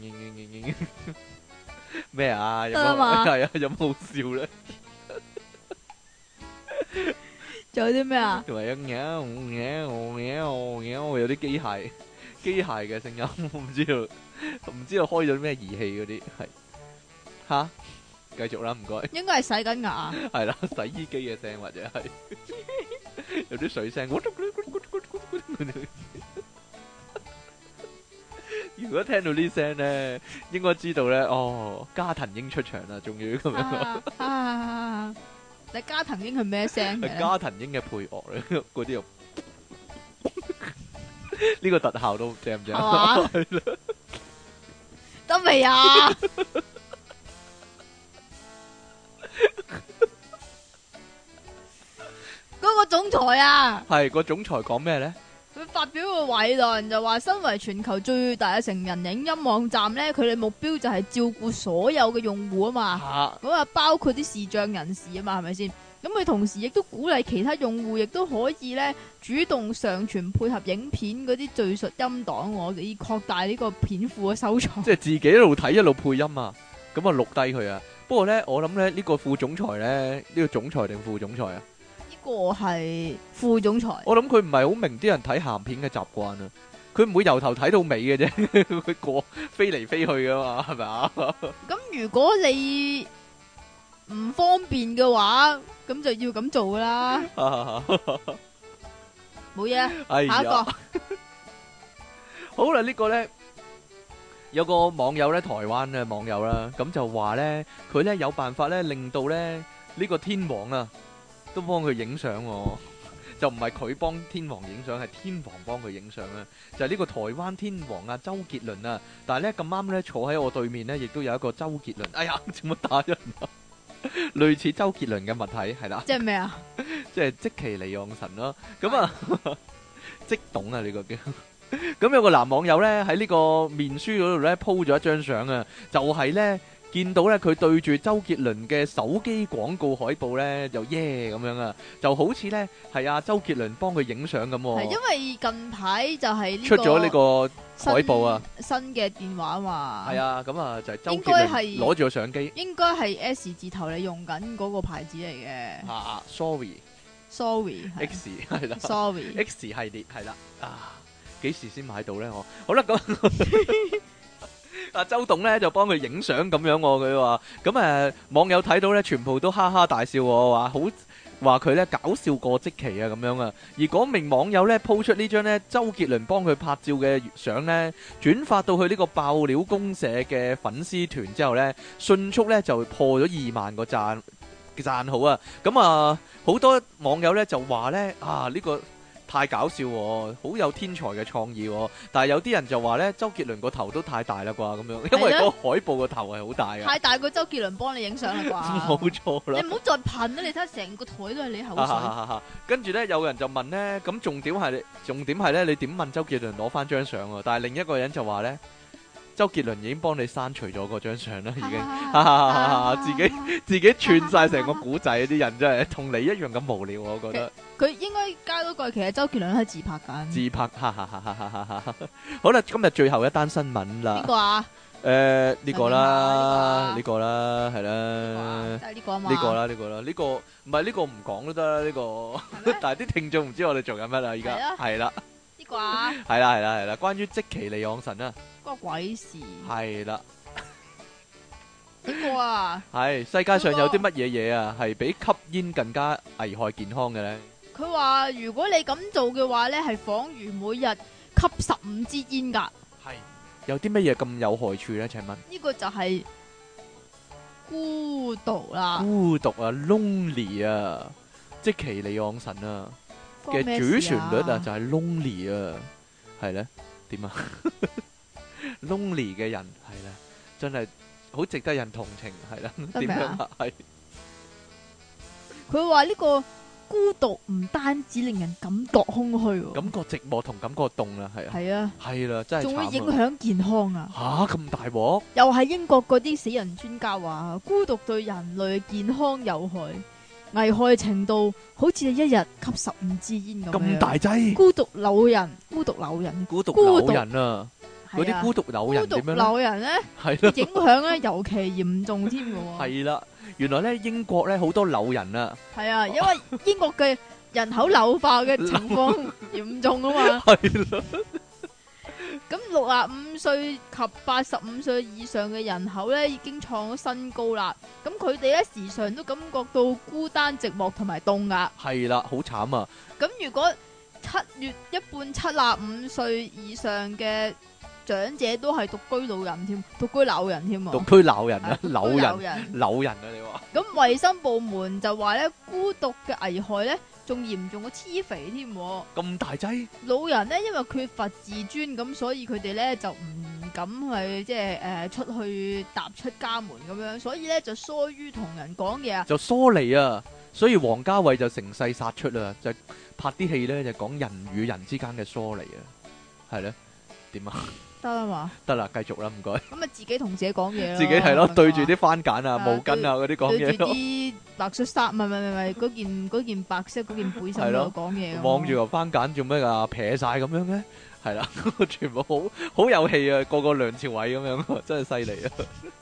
咩啊？有冇係啊？有冇好笑咧？ 仲有啲咩啊？ 同埋有喵喵喵喵，有啲機械機械嘅聲音，我唔知道，唔知道開咗咩儀器嗰啲係吓，繼續啦，唔該。 應該係洗緊牙。 係啦，洗衣機嘅聲或者係有啲水聲。如果聽到呢聲咧，應該知道咧，哦，加藤鷹出場啦，終於咁樣。 啊啊！你加藤鷹係咩聲嘅？ 係加藤鷹嘅配樂咧，嗰啲又呢個特效都正唔正？係啦， 得未啊？嗰個總裁啊， 係個總裁講咩咧？ 佢發表個偉論就話，身為全球最大嘅成人影音網站咧，佢哋目標就係照顧所有嘅用戶啊嘛。咁啊，包括啲視障人士啊嘛，係咪先？咁佢同時亦都鼓勵其他用戶，亦都可以咧主動上傳配合影片嗰啲敘述音檔，我哋以擴大呢個片庫嘅收藏。 即係自己一路睇一路配音啊，咁啊錄低佢啊。不過咧，我諗咧呢個副總裁咧，呢個總裁定副總裁啊？ 呢個係副總裁。 我諗佢唔係好明啲人睇鹹片嘅習慣啊。佢唔會由頭睇到尾嘅啫，佢過飛嚟飛去噶嘛，係咪啊？ 咁如果你唔方便嘅話，咁就要咁做噶啦。冇嘢， 哎呀， 下一個好啦，呢個咧有個網友咧，台灣嘅網友啦，咁就話咧，佢咧有辦法咧，令到咧呢個天王啊，都幫佢影相喎。就唔係佢幫天王影相，係天王幫佢影相啊！就係呢個台灣天王啊，周杰倫啊。但係咧咁啱咧，坐喺我對面咧，亦都有一個周杰倫。哎呀，做乜打人啊？類似周杰倫嘅物體係啦， 即係咩啊？ 即係積淇離岸神咯。咁啊，即懂啊呢個叫。咁有個男網友咧喺呢個面書嗰度咧 po 咗一張相啊，就係咧。見到咧佢對住周杰倫嘅手機廣告海報咧，就耶咁樣啊，就好似咧係阿周杰倫幫佢影相咁。 係因為近排就係出咗呢個海報啊， 新嘅電話啊嘛。係啊，咁啊就係周杰倫攞住個相機， 應該係 S 字頭你用緊嗰個牌子嚟嘅。 啊 ，sorry sorry X 係啦 ，sorry X 系列係啦，啊，幾時先買到咧？我好啦咁。阿周董咧就幫佢影相咁樣，佢話咁誒網友睇到咧，全部都哈哈大笑，話好話佢咧搞笑過積淇啊咁樣啊。而嗰名網友咧 po 出呢張咧周杰倫幫佢拍照嘅相咧，轉發到去呢個爆料公社嘅粉絲團之後咧，迅速咧就破咗二萬個讚讚好啊。咁啊，好多網友咧就話咧啊呢個太搞笑喎，好有天才嘅創意喎。但係有啲人就話咧，周杰倫個頭都太大啦啩咁樣，因為個海報個頭係好大嘅。 太大過周杰倫幫你影相啦啩？ 冇錯啦。 你唔好再噴啦！你睇下成個台都係你口水。 跟住咧，有人就問咧，咁重點係重點係咧，你點問周杰倫攞翻張相啊？但係另一個人就話咧，周杰倫已經幫你刪除咗嗰張相啦，已經自己自己串晒成個古仔，啲人真係同你一樣咁無聊，我覺得。 佢應該加多句，其實周杰倫喺自拍緊。 自拍，哈哈哈哈哈哈！好啦，今日最後一單新聞啦。 邊個啊？ 誒，呢個啦，呢個啦，係啦。 就係呢個啊嘛。 呢個啦，呢個啦，呢個唔係呢個唔講都得啦，呢個。但係啲聽眾唔知我哋做緊乜啦，而家係啦。 呢個啊？ 係啦，係啦，係啦，關於積淇離岸神啊。 關鬼事。 係啦。 呢個啊？ 係世界上有啲乜嘢嘢啊，係比吸煙更加危害健康嘅咧？ 佢話如果你咁做嘅話咧，係仿如每日吸十五支煙噶。 係有啲乜嘢咁有害處咧？請問呢個就係孤獨啦。 孤獨啊 ，lonely 啊，積淇離岸神啊嘅主旋律啊，就係 lonely 啊，係咧點啊？lonely 嘅人係啦，真係好值得人同情，係啦，點樣啊？係佢話呢個。孤獨唔單止令人感覺空虛， 感覺寂寞同感覺凍啦，係啊， 係啊， 係啦，真係仲會影響健康啊！ 吓咁大鑊， 又係英國嗰啲死人專家話，孤獨對人類健康有害，危害程度好似你一日吸十五支煙咁樣。 咁大劑， 孤獨老人，孤獨老人， 孤獨老人啊！嗰啲孤獨老人點樣咧？孤獨老人咧，係咯，影響咧尤其嚴重添嘅。 係啦，原來咧英國咧好多老人啊。係啊，因為英國嘅人口老化嘅情況嚴重啊嘛。係啦。咁六十五歲及八十五歲以上嘅人口咧已經創咗新高啦。咁佢哋咧時常都感覺到孤單、寂寞同埋凍噶。係啦，好慘啊！ 咁如果七月一半七十五歲以上嘅長者都係獨居老人添，獨居老人添啊！ 獨居老人啊，老人，老人啊！你話咁衛生部門就話咧，孤獨嘅危害咧，仲嚴重過黐肥添。 咁大劑？ 老人咧，因為缺乏自尊，咁所以佢哋咧就唔敢去即係誒出去踏出家門咁樣，所以咧就疏於同人講嘢啊， 就疏離啊！所以王家衛就乘勢殺出啦，就拍啲戲咧就講人與人之間嘅疏離啊，係咧點啊？得啦嘛，得啦，繼續啦，唔該。咁啊，自己同自己講嘢咯，自己係咯，對住啲番梘啊、毛巾啊嗰啲講嘢咯。對住啲白恤衫，唔係唔係唔係嗰件嗰件白色嗰件背心度講嘢。望住個番梘做咩噶？撇晒咁樣嘅，係啦，全部好好有氣啊，個個梁朝偉咁樣，真係犀利啊！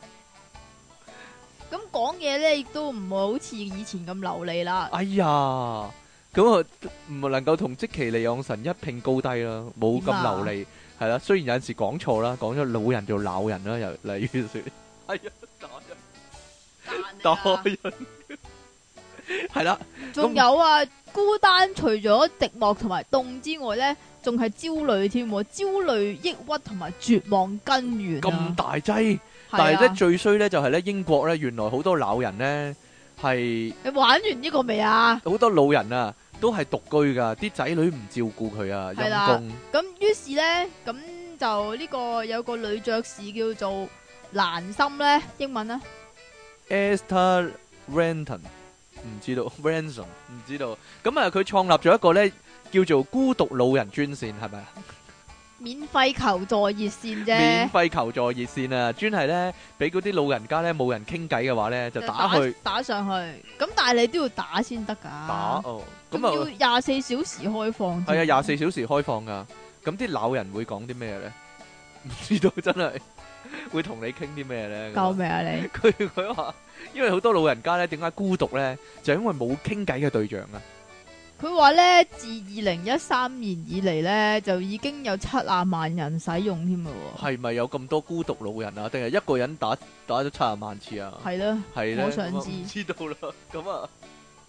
咁講嘢咧，亦都唔會好似以前咁流利啦。哎呀，咁啊唔能夠同積淇離岸神一拼高低啦，冇咁流利。係啦，雖然有陣時講錯啦，講咗老人做鬧人啦，又例如說，係啊，打人，打人，係啦。仲有啊，孤單除咗寂寞同埋凍之外咧，仲係焦慮添，焦慮、抑鬱同埋絕望根源。咁大劑，但係咧最衰咧就係咧英國咧，原來好多老人咧係。你玩完呢個未啊？好多老人啊。都係獨居噶，啲仔女唔照顧佢啊，陰公。咁於是咧，咁就呢個有個女爵士叫做蘭心咧，英文啊 Esther Ranton，唔知道 Ransom 唔知道。咁啊，佢創立咗一個咧叫做孤獨老人專線，係咪啊？免費求助熱線啫，免費求助熱線啊，專係咧俾嗰啲老人家咧冇人傾偈嘅話咧，就打去打，打上去。咁但係你都要打先得噶。打哦，咁啊要廿四小時開放。係啊，廿四小時開放噶。咁啲老人會講啲咩咧？唔知道，真係會同你傾啲咩咧？救命啊你！佢佢話，因為好多老人家咧，點解孤獨咧？就因為冇傾偈嘅對象啊。佢話咧，自二零一三年以嚟咧，就已經有七十萬人使用添咯。係咪有咁多孤獨老人啊？定係一個人打打咗七十萬次啊？係咯，係咧，我想知。知道啦，咁啊，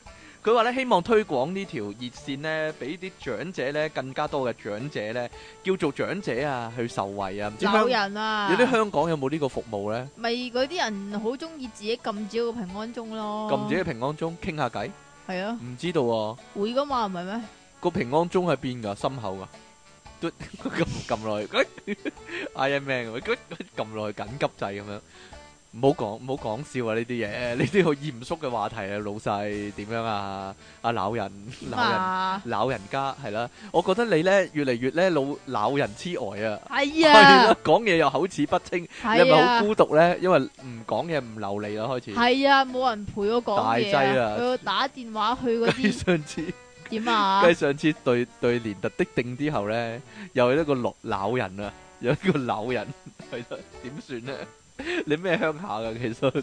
佢話咧希望推廣呢條熱線咧，俾啲長者咧更加多嘅長者咧，叫做長者啊去受惠啊。唔知老香人啊， 有啲香港有冇呢個服務咧？ 咪嗰啲人好中意自己撳住個平安鐘咯， 撳自己嘅平安鐘傾下偈， 係啊， 唔知道喎。 會噶嘛，唔係咩？ 個平安鐘喺邊㗎？心口㗎，都撳撳落去，Iron Man 咁，撳落去緊急掣咁樣。唔好講唔好講笑啊！呢啲嘢，呢啲好嚴肅嘅話題啊，老細點樣啊？阿老人老人啊， 老人家係啦，我覺得你咧越嚟越咧老老人痴呆啊！ 係係啊啦，，講嘢又口齒不清，你係係咪好啊， 孤獨咧？因為唔講嘢唔流利啦，開始。 係啊，冇人陪我講大嘢劑啊啊，佢要打電話去嗰繼啲上次。 點啊繼？上次對對連特的定之後咧，又有一個老老人啊，有一個老人係啦，點算咧？你咩鄉下噶？其實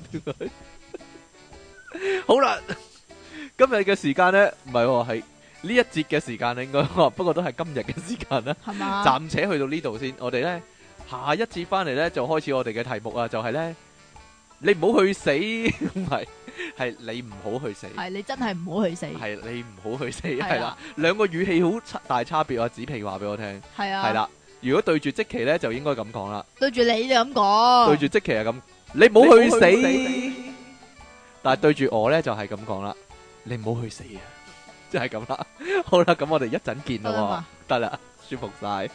好啦，今日嘅時間咧，唔係喎，係呢一節嘅時間應該，不過都係今日嘅時間啦。 係嘛？ 暫且去到呢度先，我哋咧下一節翻嚟咧就開始我哋嘅題目啊，就係咧你唔好去死，唔係係你唔好去死。 係你真係唔好去死， 係你唔好去死， 係啦係啦，兩個語氣好差大差別啊！子皮話俾我聽， 係啊， 係啦，如果對住積淇咧就應該咁講啦， 對住你就咁講， 對住積淇係咁，你唔好去死，但係對住我咧就係咁講啦，你唔好去死啊，即係咁啦。好啦，咁我哋一陣見咯得啦嘛， 喎，得啦，舒服晒。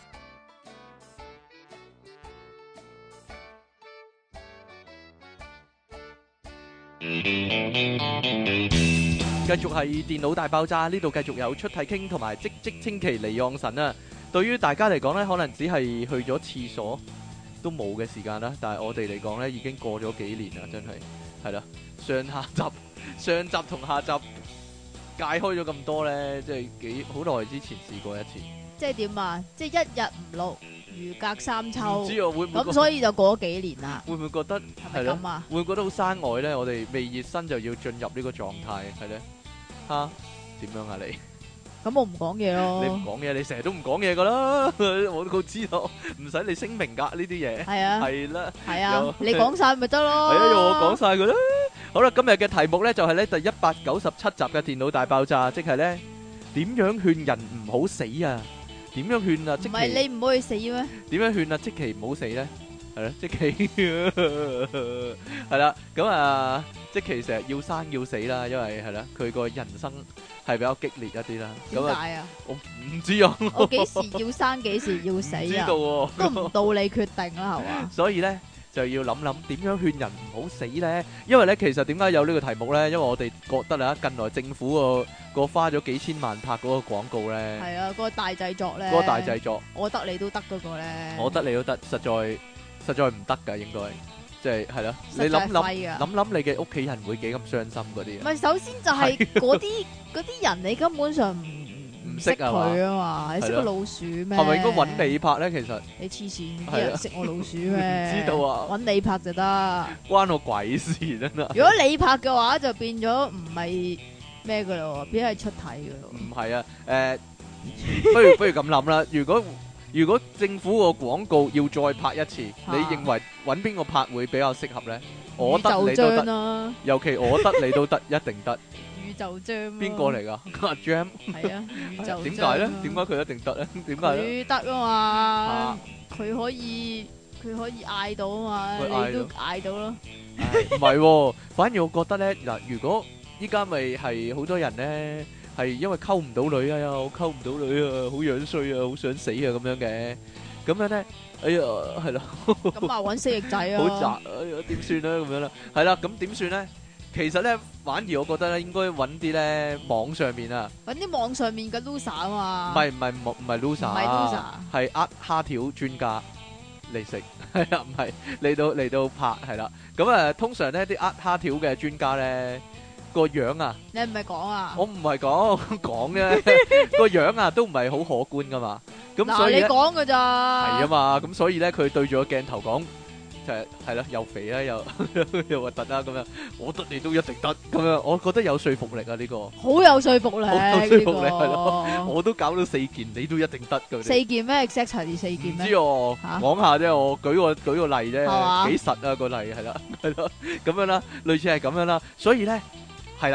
繼續係電腦大爆炸，呢度繼續有出體傾同埋積積清奇離岸神啊！對於大家嚟講呢，可能只係去咗廁所都冇嘅時間啦，但係我哋嚟講呢，已經過咗幾年啦，真係係啦。上下集、上集同下集界開咗咁多呢，即係幾好耐之前試過一次。 即係點啊？即係一日唔錄，如隔三秋唔，知我會唔會咁所以就過咗幾年啦， 會唔會覺得係係咯？ 咪咁啊？ 會唔會覺得好生外呢？我哋未熱身就要進入呢個狀態，係咧吓點樣啊你？ 咁我唔講嘢你唔咯， 講嘢，你成日都唔講嘢噶啦，我都知道，唔使你聲明噶呢啲嘢， 係啊， 係啦， 係啊有， 你講晒咪得咯， 係啊，用我講晒佢啦。好啦，今日嘅題目咧就係咧第一百九十七集嘅電腦大爆炸，即係咧點樣勸人唔好死啊？點樣勸啊？即唔係其你唔可以死咩？ 點樣勸啊？即其唔好死咧，係啦，即其係啦，咁啊，即其成日要生要死啦，因為係啦，佢個人生係比較激烈一啲啦。咁啊， 點解啊？ 我唔知啊， 我幾時要生，幾時要死唔知道啊？ 喎。 都唔到你決定啦，係嘛？ 所以咧就要諗諗點樣勸人唔好死咧，因為咧其實點解有呢個題目咧？因為我哋覺得啊，近來政府個個花咗幾千萬拍嗰個廣告咧， 係啊，嗰個大製作咧， 嗰個大製作， 我得你都得嗰個咧， 我得你都得，實在實在唔得㗎，應該即係係咯。你實在諗諗廢㗎諗諗，你嘅屋企人會幾咁傷心嗰啲啊？ 唔係，首先就係嗰啲嗰啲人，你根本上唔唔唔識識啊嘛佢啊嘛，你識個係咯老鼠咩？ 係咪應該揾你拍咧？其實你黐線， 係啊啲人識我老鼠咩？ 唔知道啊揾你拍就得。 關我鬼事真係。 如果你拍嘅話，就變咗唔係咩噶咯，變咗係出體噶咯。 唔係啊，誒，不如不如咁諗啦。如果如果政府個廣告要再拍一次， 啊你認為揾邊個拍會比較適合咧？我得宇宙你都得， 章啦， 尤其我得你都得，一定得。 宇宙章。 邊個？嚟㗎？阿 Jam 係啊，宇宙章。 點解咧？點解佢一定得咧？點解咧？ 佢得啊嘛？佢可以佢可以嗌到啊佢嗌嘛？ 到你都嗌到咯。 唉唔係喎，反而我覺得咧嗱，如果依家咪係好多人咧係因為溝唔到女啊，我溝唔到女啊，好樣衰啊，好想死啊咁樣嘅，咁樣咧，哎呀，係啦。 咁啊，揾死翼仔啊！ 好窄，哎呀點算咧咁樣啦？係啦，咁點算咧？其實咧，反而我覺得咧，應該揾啲咧網上面啊， 揾啲網上面嘅 loser 啊嘛。 唔係唔係唔唔係 loser， 唔係 loser 係呃蝦條專家嚟食，係啊，唔係嚟到嚟到拍係啦。咁啊，通常咧啲呃蝦條嘅專家咧個樣啊， 你係咪講啊？ 我唔係講講啫，個樣啊都唔係好可觀噶嘛。咁嗱，你所以咧講噶咋？ 係啊嘛，咁所以咧佢對住個鏡頭講。就係係啦，又肥啦，又又核突啦，咁樣我得你都一定得，咁樣我覺得有說服力啊！呢個好有說服力， 好有說服力呢個係咯，我都搞到四件，你都一定得㗎。 四件咩 exact 係四件唔咩？ 知我嚇講下啫，我舉個舉個例啫， 係嘛幾實啊個例係啦，係咯，咁樣啦，類似係咁樣啦，所以咧係啦，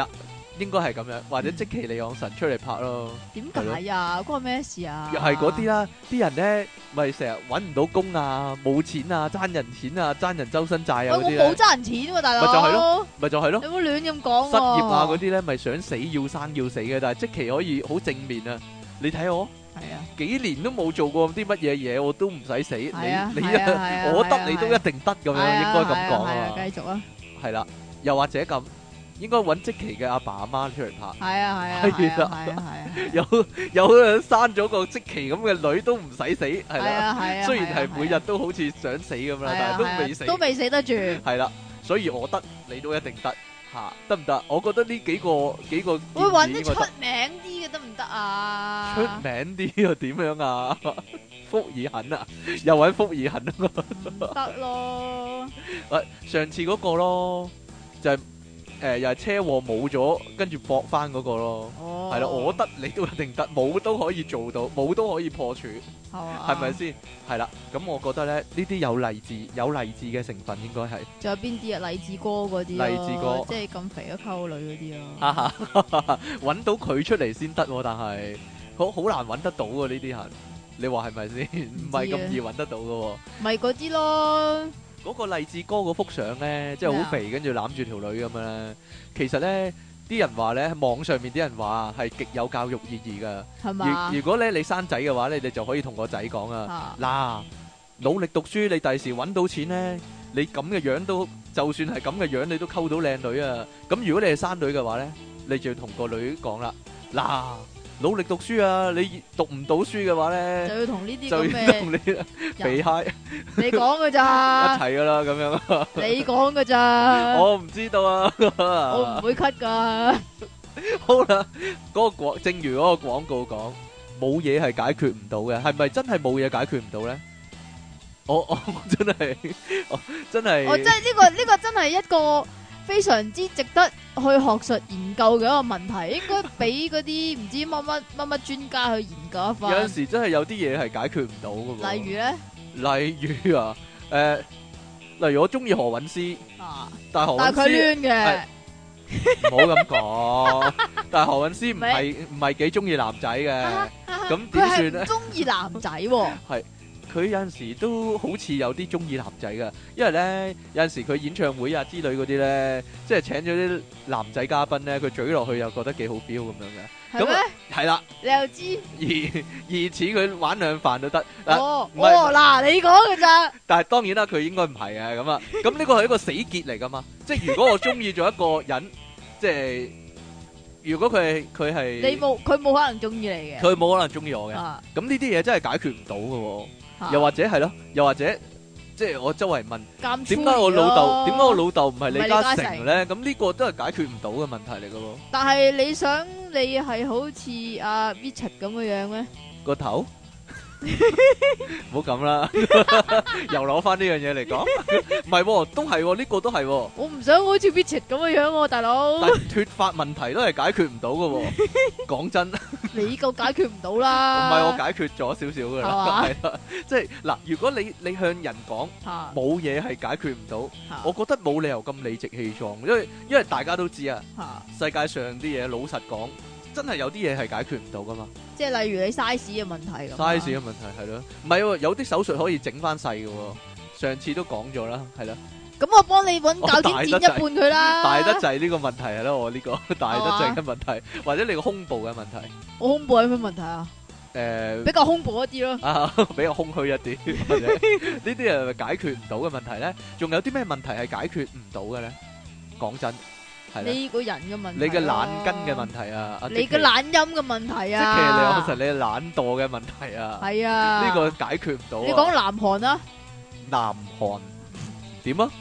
應該係咁樣，或者積淇離岸神出嚟拍咯。 點解啊？關我咩事啊？ 又係嗰啲啦，啲人咧咪成日揾唔到工啊，冇錢啊，爭人錢啊，爭人周身債啊喂，我嗰啲咧， 冇爭人錢喎，大佬。 咪就係咯，咪就係咯。 你唔好亂咁講喎。 失業啊嗰啲咧，咪想死要生要死嘅，但係積淇可以好正面啊！你睇我係啊， 幾年都冇做過啲乜嘢嘢，我都唔使死。你係啊你係啊係啊我係啊得你都一定得咁樣， 係啊應該咁講係啊啊。 繼續啊。 係啦，又或者咁，應該揾積淇嘅阿爸阿媽出嚟拍。 係啊係啊係係啊啊係啊。 有有人生咗個積淇咁嘅女都唔使死，係係啦。 啊係啊。 雖然係每日都好似想死咁啦，但係都未死。 都未死得住。 係啦，所以我得你都一定得嚇，得唔得？我覺得呢幾個幾個會揾啲出建議應該得。 名啲嘅得唔得啊？ 出名啲又點樣啊？福爾肯啊，又揾福爾肯啊！ 唔得咯。 喂，上次嗰個咯，就係誒又係車禍冇咗，跟住駁翻嗰個咯。 哦。 係啦，我得你都一定得，冇都可以做到，冇都可以破處， 係嘛？ 係咪先？係啦，咁我覺得咧，呢啲有勵志有勵志嘅成分應該係。 仲有邊啲啊？勵志哥嗰啲咯。 勵志哥即係咁肥都溝女嗰啲咯。 哈哈，揾到佢出嚟先得，但係好好難揾得到喎呢啲人。你話係咪先？唔係咁易揾得到嘅喎。 咪嗰啲咯。 嗰個勵志哥嗰幅相咧，即係好肥，跟住攬住條女咁樣咧。其實咧，啲人話咧，網上面啲人話係極有教育意義噶。 係嘛？ 如如果咧你生仔嘅話咧，你就可以同個仔講啊，嗱，努力讀書，你第時揾到錢咧，你咁嘅樣都，就算係咁嘅樣，你都溝到靚女啊。咁如果你係生女嘅話咧，你就要同個女講啦，嗱，努力讀書啊！你讀唔到書嘅話咧， 就要同呢啲就咁要同嘅你被嗨你講噶一咋？ 齊噶啦，咁樣啊！ 你講噶咋？ 我唔知道啊！ 我唔會 cut 噶。 好啦，嗰個廣，正如嗰個廣告講，冇嘢係解決唔到嘅，係咪真係冇嘢解決唔到咧？我我真係，我真係， 我真係呢個呢個真係一個非常之值得去學術研究嘅一個問題，應該俾嗰啲唔知乜乜乜乜專家去研究一番。 有陣時真係有啲嘢係解決唔到嘅喎。 例如咧， 例如啊，誒，例如我中意何韻詩， 啊， 但係何但係佢韻詩攣嘅， 唔好咁講，但係何韻詩唔係唔係幾中意男仔嘅，咁點佢係算咧唔？中意男仔喎。 係。佢有陣時都好似有啲中意男仔噶，因為咧有陣時佢演唱會啊之類嗰啲咧，即係請咗啲男仔嘉賓咧，佢嘴落去又覺得幾好 feel 咁樣嘅。 係咩？ 係啦， 你又知？ 而而似佢玩兩飯都得。嗱， 哦唔係哦，嗱，你講嘅咋？ 但係當然啦，佢應該唔係嘅咁啊。咁呢個係一個死結嚟噶嘛，即係如果我中意咗一個人，即係如果佢係佢係你冇佢冇可能中意你嘅。 佢冇可能中意我嘅。 啊， 咁呢啲嘢真係解決唔到嘅喎。 啊又或者係咯，又或者即係我周圍問監點解我老豆點解我老豆唔係李嘉唔係李嘉誠誠咧？咁呢個都係解決唔到嘅問題嚟嘅喎。 但係你想你係好似阿 Richard 咁嘅樣咩？ 個頭唔好咁啦，又攞翻呢樣嘢嚟講，唔係喎，都係喎，呢個都係喎。 我唔想好似 Richard 咁嘅樣喎，大佬。 但係脫髮問題都係解決唔到嘅喎。講真， 你個解決唔到唔啦。 係我解決咗少少嘅啦， 係嘛係啦，即係嗱，如果你你向人講嚇冇嘢係解決唔到， 嚇我覺得冇理由咁理直氣壯，因為因為大家都知啊。 嚇， 世界上啲嘢老實講，真係有啲嘢係解決唔到噶嘛。 即係例如你 size 嘅問題咁啊。 size 嘅問題係咯，唔係喎，有啲手術可以整翻細嘅喎。上次都講咗啦，係咯。 咁我幫你揾鉸剪剪一半佢啦。 大得滯呢個問題係咯，我呢個大得滯嘅問題，或者你個胸部嘅問題。 我胸部有咩問題啊？ 誒比較胸部一啲咯。 啊，比較空虛一啲，或者呢啲係咪解決唔到嘅問題咧？仲有啲咩問題係解決唔到嘅咧？講真。係啦， 你個人嘅問題， 你嘅懶根嘅問題啊，阿你嘅懶音嘅問題即啊， 係你有時你懶惰嘅問題啊， 係啊， 呢個解決唔到啊。 你講南韓啊？ 南韓點啊？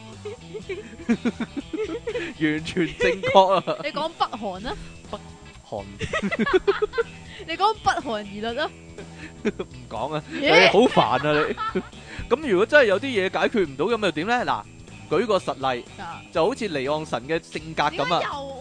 完全正確啊！ 你講北韓啊？ 韓你講北韓而律啊？ 唔講啊，你咦好煩啊你。咁如果真係有啲嘢解決唔到，咁又點咧？嗱，舉個實例， 啊就好似離岸神嘅性格點解咁啊。 又我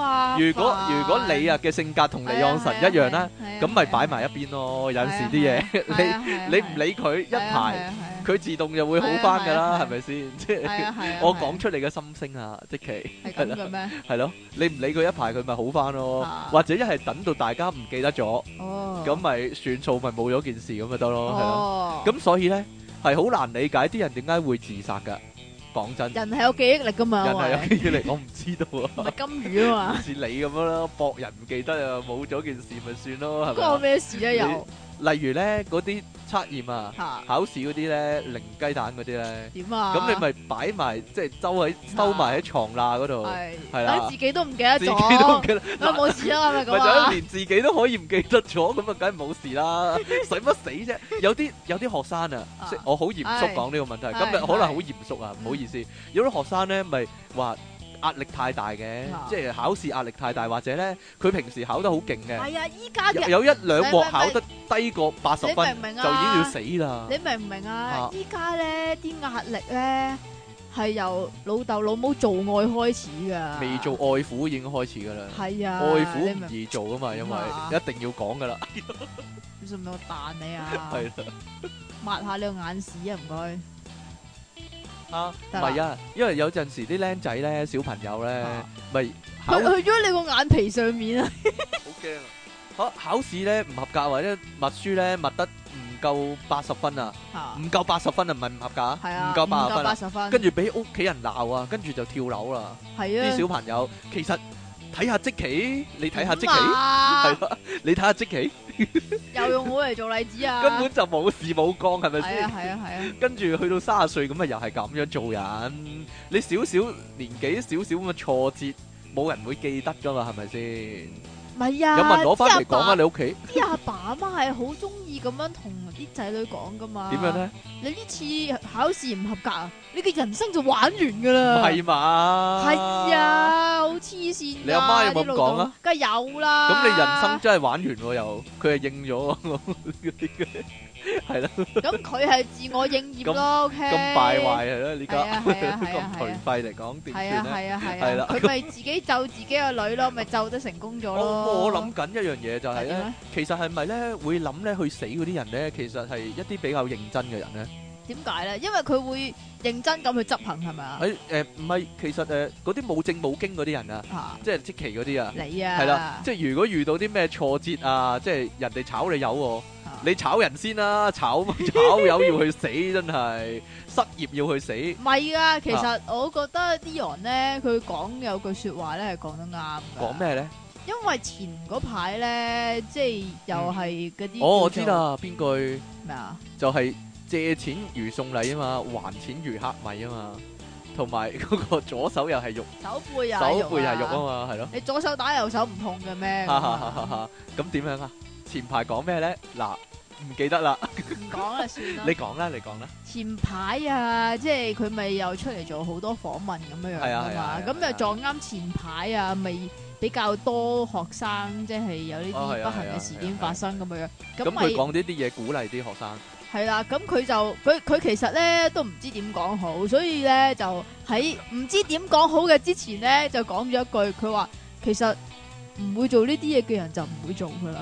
啊。 如果煩如果你啊嘅性格同離岸神一樣啦，咁咪擺埋一邊咯。有陣時啲嘢，你你唔理佢一排，佢自動就會好翻噶啦，係咪先？即係我講出你嘅心聲啊，即其係咁嘅咩？ 係咯，你唔理佢一排，佢咪好翻咯。或者一係等到大家唔記得咗，咁咪算數，咪冇咗件事咁咪得咯，係咯。咁所以咧係好難理解啲人點解會自殺噶。講真， 人係有記憶力噶嘛？ 人係有記憶力，我唔知道啊。 唔係金魚啊嘛？ 似你咁樣咯，博人唔記得啊，冇咗件事咪算咯，係咪？ 關我咩事啊？又例如咧嗰啲測驗啊，考試嗰啲咧零雞蛋嗰啲咧， 點啊？ 咁你咪擺埋即係收喺收埋喺床罅嗰度，係啦， 等自己都唔記得咗， 自己都唔記得， 咁冇事啦，係咪咁啊？ 咪就係連自己都可以唔記得咗，咁啊梗係冇事啦，使乜死啫？有啲有啲學生啊，即係我好嚴肅講呢個問題，今日可能好嚴肅啊，唔好意思，有啲學生咧咪話壓力太大嘅，即係考試壓力太大，或者咧佢平時考得好勁嘅， 係啊，依家有一兩鑊考得低過八十分， 明唔明啊？ 就已經要死啦！ 你明唔明啊？依家咧啲壓力咧係由老豆老母做愛開始噶， 未做愛撫已經開始噶啦。係啊，愛撫唔易做啊嘛，因為一定要講噶啦。 你信唔信我彈你啊？ 係啦， 抹下你個眼屎啊，唔該。 啊，唔係啊，因為有陣時啲僆仔咧，小朋友咧，咪去去咗你個眼皮上面啊！ 好驚啊！考考試咧唔合格或者默書咧默得唔夠八十分啊，唔夠八十分啊，唔係唔合格啊，唔夠八十分，跟住俾屋企人鬧啊，跟住就跳樓啦。係啊，啲小朋友其實睇下積淇，你睇下積淇，係咯，你睇下積淇。 又用我嚟做例子啊！ 根本就冇事冇幹，係咪先？ 係啊係啊係啊！ 跟住去到三十歲咁啊，又係咁樣做人。你少少年紀少少咁嘅挫折，冇人會記得噶嘛？係咪先？ 唔係啊！ 有冇人攞翻嚟講啊？你屋企啲阿爸阿媽係好中意咁樣同啲仔女講噶嘛？ 點樣咧？ 你呢次考試唔合格啊，你嘅人生就玩完噶啦！ 係嘛？ 係啊，好黐線！ 你阿媽有冇咁講啊？ 梗係有啦！ 咁你人生真係玩完喎，又佢係應咗，係啦。 咁佢係自我應驗咯，OK？ 咁敗壞係啦，呢家咁頹廢嚟講點算咧？ 係啊係啊係啊！ 係啦， 佢咪自己咒自己個女咯，咪咒得成功咗咯。 我諗緊一樣嘢就係咧，其實係咪咧會諗咧去死嗰啲人咧，其實係一啲比較認真嘅人咧？ 點解咧？因為佢會認真咁去執行，係咪啊？ 誒誒，唔係，其實誒嗰啲冇證冇經嗰啲人啊，即係積淇嗰啲啊， 你啊， 係啦，即係如果遇到啲咩挫折啊，即係人哋炒你魷，你炒人先啦，炒炒魷要去死，真係失業要去死。 唔係啊，其實我覺得啲人咧，佢講有句說話咧係講得啱。 講咩咧？ 因為前嗰排咧，即係又係嗰啲。 哦，我知啦，邊句咩啊？ 就係。借錢如送禮啊嘛，還錢如黑米啊嘛，同埋嗰個左手又係肉， 手背又手背係肉啊嘛，係咯。 你左手打右手唔痛嘅咩？ 咁點樣啊？前排講咩咧？嗱，唔記得啦。 唔講啦，算啦。 你講啦，你講啦。 前排啊，即係佢咪又出嚟做好多訪問咁樣樣啊嘛，咁又撞啱前排啊，咪比較多學生即係有呢啲不幸嘅事件發生咁樣樣。 咁佢講呢啲嘢鼓勵啲學生。 係啦，咁佢就佢佢其實咧都唔知點講好，所以咧就喺唔知點講好嘅之前咧就講咗一句，佢話其實唔會做呢啲嘢嘅人就唔會做噶啦。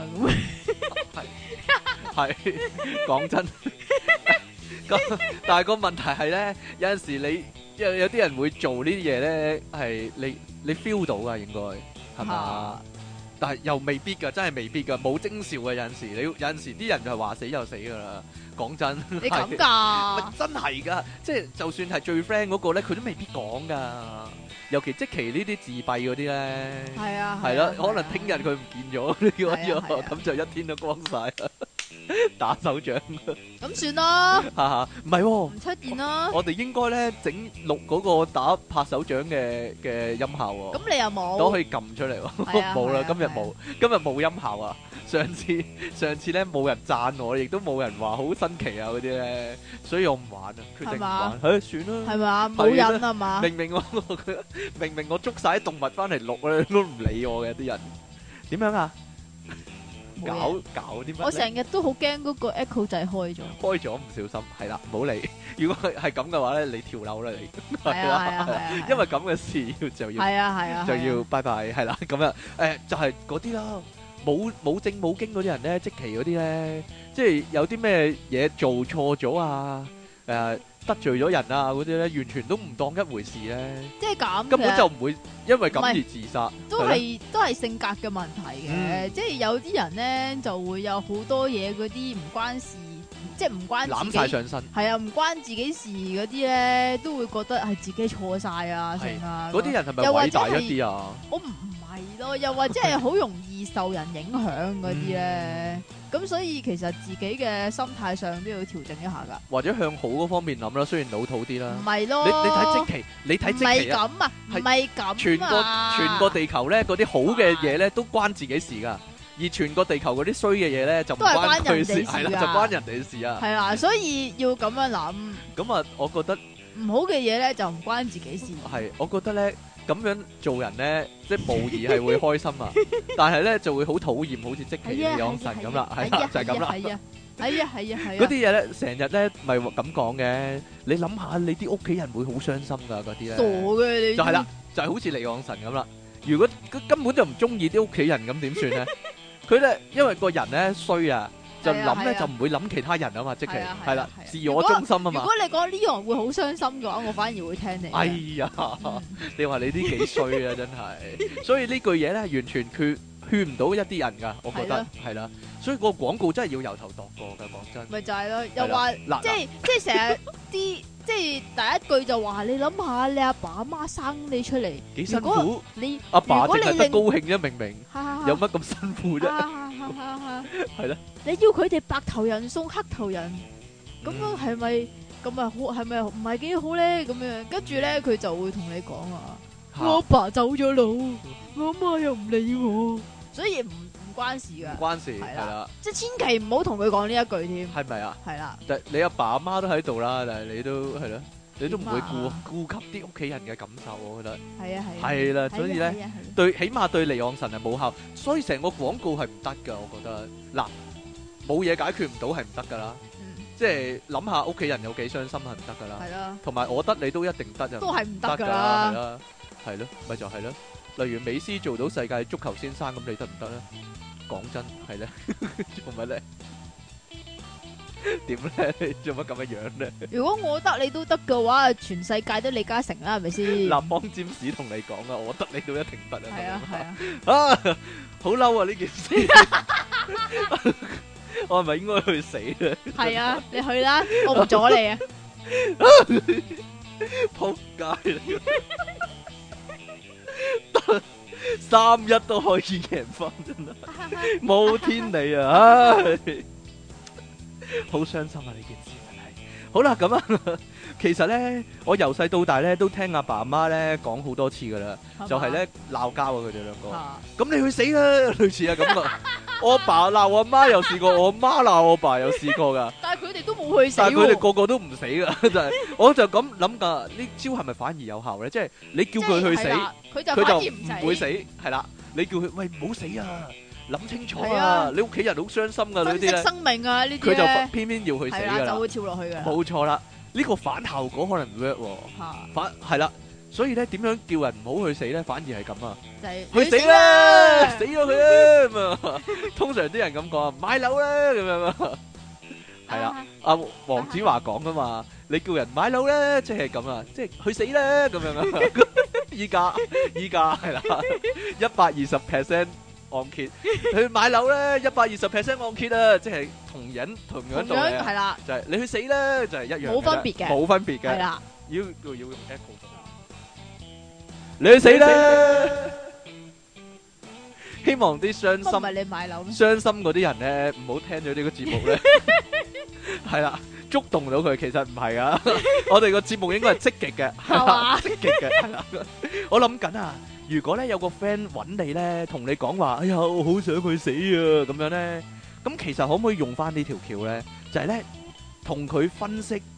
咁係係講真，但係個問題係咧，有陣時你有有啲人會做呢啲嘢咧，係你你 feel 到噶，應該係嘛？但係又未必噶，真係未必噶，冇徵兆嘅。有陣時你有陣時啲人就係話死就死噶啦。講真， 你咁噶？ 真係噶，即係就算係最 friend 嗰個咧，佢都未必講噶。尤其積淇呢啲自閉嗰啲咧，係啊，係啦，可能聽日佢唔見咗呢個咗，咁就一天都光晒，打手掌。咁算咯， 唔係，唔出現咯。 我哋應該咧整錄嗰個打拍手掌嘅嘅音效喎。 咁你又冇？ 都可以撳出嚟喎。冇啦，今日冇，今日冇音效啊。上次上次咧冇人讚我，亦都冇人話好新奇啊嗰啲咧，所以我唔玩啊，決定唔玩。誒，算啦， 係嘛，冇癮啊嘛。 明明我明明我捉晒啲動物翻嚟錄咧，都唔理我嘅啲人。點樣啊？ 唔冇搞嘢搞啲乜呢？ 我成日都好驚嗰個 echo 掣開咗。 開咗唔小心，係啦，唔好理。如果係係咁嘅話咧，你跳樓啦你。 係啊係啊係啊， 因為咁嘅事要就要係啊係啊就要拜拜，係啦，咁樣誒就係嗰啲啦，冇冇證冇經嗰啲人咧，即期嗰啲咧，即係有啲咩嘢做錯咗啊，誒得罪咗人啊嗰啲咧，完全都唔當一回事咧， 即係咁根本嘅就唔會因為咁唔係而自殺， 都係咯係都係性格嘅問題嘅， 嗯即係有啲人咧就會有好多嘢嗰啲唔關事，即係唔關攬自己晒上身。 係啊，唔關自己事嗰啲咧，都會覺得係自己錯晒啊， 係成啊。 嗰啲人係咪又或者偉大一係啲啊？ 我唔唔係咯，又或者係好容易受人影響嗰啲咧，咁所以其實自己嘅心態上都要調整一下噶。 或者向好嗰方面諗啦，雖然老土啲啦唔。係咯， 你你睇即期，你睇唔係即期啊！ 咁啊，唔係咁全個啊全個地球咧，嗰啲好嘅嘢咧都關自己事噶，而全個地球嗰啲衰嘅嘢咧就唔都係關佢事， 關人哋事係啦， 㗎就關人哋事啊。 係啊，所以要咁樣諗， 咁啊，我覺得唔好嘅嘢咧就唔關自己事。 係，我覺得咧咁樣做人咧，即係無疑係會開心啊，但係咧就會好討厭，好似即其係啊， 養神咁啦，係啦，就係咁啦。 係啊，係啊，係啊，係啊。 嗰啲嘢咧，成日咧咪咁講嘅，你諗下，你啲屋企人會好傷心噶，嗰啲咧。 傻嘅你。 就係啦，就係好似離岸神咁啦。如果佢根本就唔中意啲屋企人咁點算咧？佢咧因為個人咧衰啊，就諗咧就唔會諗其他人啊嘛，即係係啦，自我中心啊嘛。 如果你講呢樣會好傷心嘅話，我反而會聽你。 哎呀，你話你啲幾衰啊，真係。所以呢句嘢咧，完全勸勸唔到一啲人噶，我覺得係啦。所以個廣告真係要由頭度過噶，講真。 咪就係咯，又話即係即係成日啲。即係第一句就話你諗下，你阿爸阿媽生你出嚟幾辛苦， 你阿爸淨係得高興啫，明明有乜咁辛苦啫？係咯， 你要佢哋白頭人送黑頭人，咁樣係咪咁啊？好係咪唔係幾好咧？咁樣跟住咧，佢就會同你講啊，我阿爸走咗路，我阿媽又唔理我，所以唔。唔關事噶， 唔關事係啦， 即係千祈唔好同佢講呢一句添， 係咪啊？ 係啦， 但你阿爸阿媽都喺度啦，但係你都係咯，你都唔會顧顧及啲屋企人嘅感受，我覺得係啊係， 係啦，所以咧對起碼對離岸神係冇效，所以成個廣告係唔得噶，我覺得嗱冇嘢解決唔到係唔得噶啦，即係諗下屋企人有幾傷心係唔得噶啦， 係啦， 同埋我得你都一定得啊， 都係唔得噶啦，係啦，係咯，咪就係咯，例如美斯做到世界足球先生咁，你得唔得咧？講真係咧，做乜咧？點咧？你做乜咁嘅樣咧？ 如果我得你都得嘅話，全世界都李嘉誠啦，係咪先？ 立邦占士同你講啊，我得你都一定得啊！ 係啊係啊！ 啊，好嬲啊！呢件事，我係咪應該去死咧？ 係啊，你去啦，我唔阻你啊！ 仆街嚟！三一都可以贏翻，真係冇天理啊！唉，好傷心啊！呢件事真係。好啦，咁啊，其實咧，我由細到大咧都聽阿爸阿媽咧講好多次噶啦，就係咧鬧交啊！佢哋兩個，咁你去死啦！類似啊咁啊，我阿爸鬧我阿媽又試過，我阿媽鬧我阿爸又試過噶。 但係佢哋都冇去死， 但係佢哋個個都唔死噶，就係我就咁諗噶，呢招係咪反而有效咧？即係你叫佢去死。 佢就佢就唔會死，係啦。你叫佢喂唔好死啊，諗清楚啊！你屋企人好傷心噶，呢啲咧。 珍惜生命啊，呢啲佢就偏偏要去死噶啦， 就會跳落去嘅。 冇錯啦，呢個反效果可能唔 work 喎。反係啦，所以咧點樣叫人唔好去死咧？反而係咁啊， 就係去死啦，死咗佢啊咁啊！通常啲人咁講，買樓啦咁樣啊。係啦，阿黃子華講噶嘛，你叫人買樓咧，即係咁啊，即係去死啦咁樣啊！依家依家係啦，一百二十 percent 按揭去買樓咧，一百二十 percent 按揭啊，即係同樣同樣道理係啦， 就係你去死啦，就係一樣， 冇分別嘅， 冇分別嘅， 係啦， 要要用 echo，你去死啦！希望啲傷心， 唔係你買樓咩？ 傷心嗰啲人咧，唔好聽咗呢個節目咧，係啦，觸動到佢，其實唔係啊，我哋個節目應該係積極嘅，係啦，積極嘅，係啦。我諗緊啊，如果咧有個 friend 揾你咧，同你講話，哎呀，我好想去死啊，咁樣咧，咁其實可唔可以用翻呢條橋咧？就係咧，同佢分析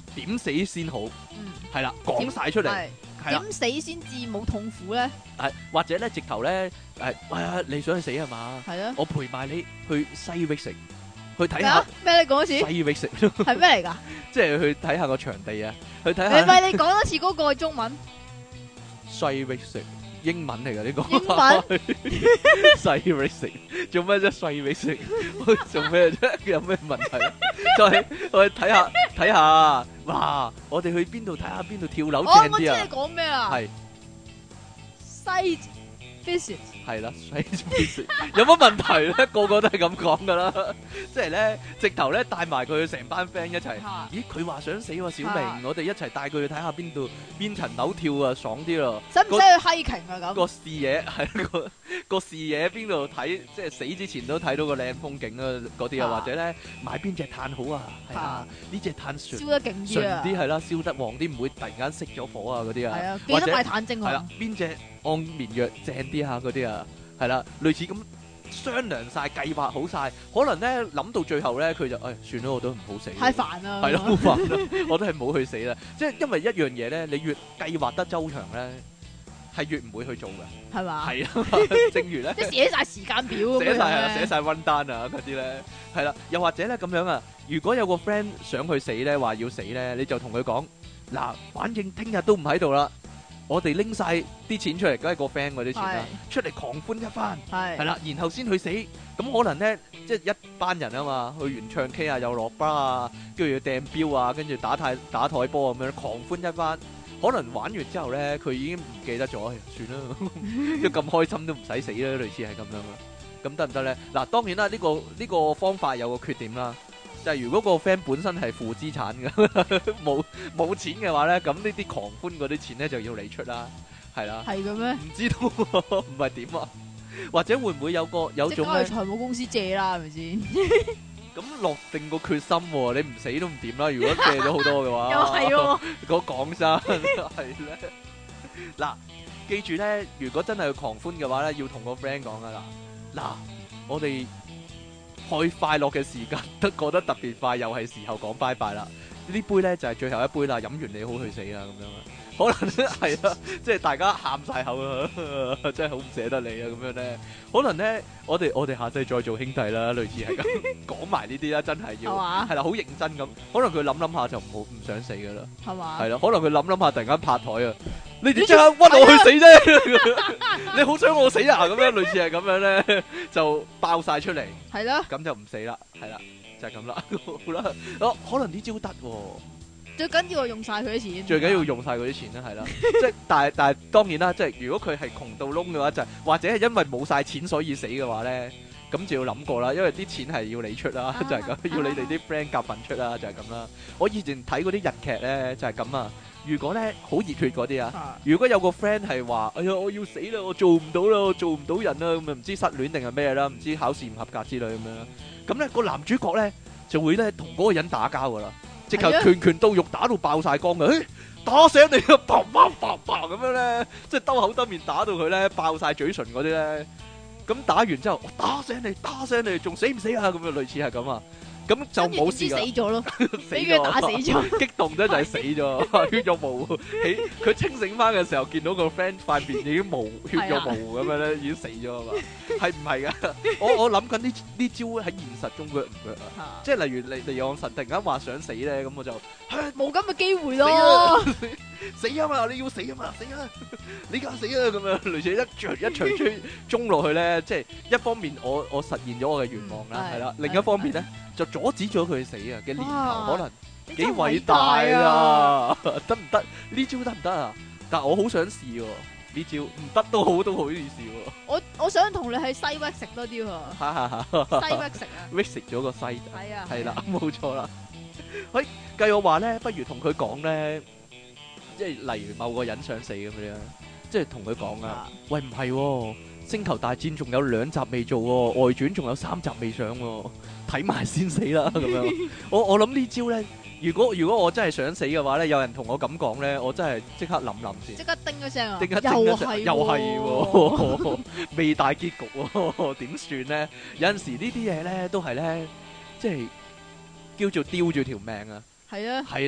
點死先好， 嗯， 係啦，講晒出嚟， 係係啦， 點死先至冇痛苦咧？ 係或者咧直頭咧誒，喂啊，你想去死係嘛？ 係啊， 我陪埋你去西域城，去睇下咩啊？咩？你講多次西域城， 係咩嚟㗎？ 即係去睇下個場地啊，去睇你下咪你講多次嗰個中文西域城。英文嚟㗎呢個， 英文西域城做咩啫？西域城做咩啫？有咩問題？就係我去睇下睇下，哇！我哋去邊度睇下邊度跳樓哦， 正啲啊我知你！講咩啊？ 係西 visit 係啦，西域城有乜問題咧？個個都係咁講㗎啦，即係咧直頭咧帶埋佢成班 friend 一齊。 嚇， 咦？佢話想死喎，小啊明，我哋一齊帶佢去睇下邊度邊層樓跳啊，爽啲咯！ 使唔使去 hiking 啊？咁個視野係個個視野邊度睇，即係死之前都睇到個靚風景啊嗰啲啊， 啊或者咧買邊隻炭好啊，係啊啊， 呢隻炭純燒得勁啲純啊！ 啲係啦，燒得旺啲，唔會突然間熄咗火啊嗰啲啊， 係啊，記或者得買炭精係啦啊！， 邊隻安眠藥正啲下嗰啲啊，係啦，類似咁商量晒計劃好晒，可能咧諗到最後咧佢就誒算啦，我都唔好死， 太煩啦， 係咯，好煩啦，我都係冇去死啦，即係因為一樣嘢咧，你越計劃得周詳咧，係越唔會去做嘅。 係嘛？ 係啊，正如咧即係寫晒時間表咁樣寫晒啊， 咧寫晒 run down 啊嗰啲咧，係啦，又或者咧咁樣啊，如果有個 friend 想去死咧，話要死咧，你就同佢講嗱，反正聽日都唔喺度啦，我哋拎晒啲錢出嚟，梗係個 friend 嗰啲錢啦，出嚟狂歡一番， 係係啦，然後先去死，咁可能咧即係一班人啊嘛，去完唱 K 啊，又落巴啊，跟住要掟標啊，跟住打太打台波咁樣狂歡一番。可能玩完之後咧，佢已經唔記得咗，哎算啦，即係咁開心都唔使死啦，類似係咁樣啦。咁得唔得咧？嗱，當然啦，呢個呢個方法有個缺點啦，就係如果個 friend 本身係負資產嘅，冇冇錢嘅話咧，咁呢啲狂歡嗰啲錢咧就要你出啦，係啦。 係嘅咩？ 唔知道喎唔係點啊？或者會唔會有個有即種咧刻去財務公司借啦，係咪先？ 咁落定個決心喎？你唔死都唔掂啦！如果借咗好多嘅話， 又係喎， 講講真係咧。嗱，記住咧，如果真係去狂歡嘅話咧，要同個 friend 講噶啦。嗱，我哋開快樂嘅時間都過得特別快，又係時候講拜拜啦。呢杯咧就係最後一杯啦，飲完你好去死啊咁樣啊。可能係啊，即係大家喊晒口啊，真係好唔捨得你啊咁樣咧。可能咧，我哋我哋下世再做兄弟啦，類似係咁講埋呢啲啦，真係要係嘛？ 係啦，好認真咁。可能佢諗諗下就唔好唔想死噶啦， 係嘛？ 係啦。可能佢諗諗下突然間拍台啊，你點即刻屈我去死啫？你好想我死啊？咁樣類似係咁樣咧，就爆晒出嚟， 係啦， 咁就唔死啦，係啦，就係咁啦。好啦，哦，可能呢招得喎。 最緊要係用晒佢啲錢， 最緊要用晒嗰啲錢啦，係啦，即係但係但係當然啦，即係如果佢係窮到窿嘅話，就係或者係因為冇晒錢所以死嘅話咧，咁就要諗過啦，因為啲錢係要你出啦，就係咁，要你哋啲 friend 夾份出啦，就係咁啦。我以前睇嗰啲日劇咧，就係咁啊。如果咧好熱血嗰啲啊， 啊如果有個 friend 係話，哎呀我要死啦，我做唔到啦，我做唔到人啦，咁啊唔知失戀定係咩啦，唔知考試唔合格之類咁樣啦。咁咧個男主角咧就會咧同嗰個人打交噶啦。直頭拳拳到肉，打到爆晒光嘅，誒打醒你啊！砰砰砰砰咁樣咧，即係兜口兜面打到佢咧爆晒嘴唇嗰啲咧。咁打完之後，我打醒你，打醒你，仲死唔死啊？咁樣類似係咁啊。咁就冇事噶， 死咗咯， 死俾佢打死咗， 激動得就係死咗，血肉模糊。起佢清醒翻嘅時候，見到個 friend 塊面已經模血肉模糊咁樣咧，已經死咗啊嘛。係唔係噶？我我諗緊呢呢招喺現實中 work 唔 work 啊？即係例如離離岸神突然間話想死咧，咁我就冇咁嘅機會咯。 死啊嘛！你要死啊嘛！死啊！你梗死啊！咁樣類似一場一場追中落去咧，即係一方面我我實現咗我嘅願望啦，係啦。另一方面咧就阻止咗佢死啊嘅念頭，可能幾偉大啊！得唔得？呢招得唔得啊？但係我好想試喎，呢招唔得都好都好意思喎。 我我想同你喺西域食多啲喎，西域食啊， 域食咗個西， 係啊， 係啦，冇錯啦。喂，計我話咧，不如同佢講咧。即係例如某個人想死咁樣，即係同佢講啊，喂唔係喎，星球大戰仲有兩集未做喎，外傳仲有三集未上喎，睇埋先死啦咁樣。我我諗呢招咧，如果如果我真係想死嘅話咧，有人同我咁講咧，我真係即刻諗諗先， 即刻叮一聲啊， 即刻叮一聲，又係喎，未大結局喎，點算咧？有陣時呢啲嘢咧都係咧，即係叫做丟住條命啊。 係啊， 係咧，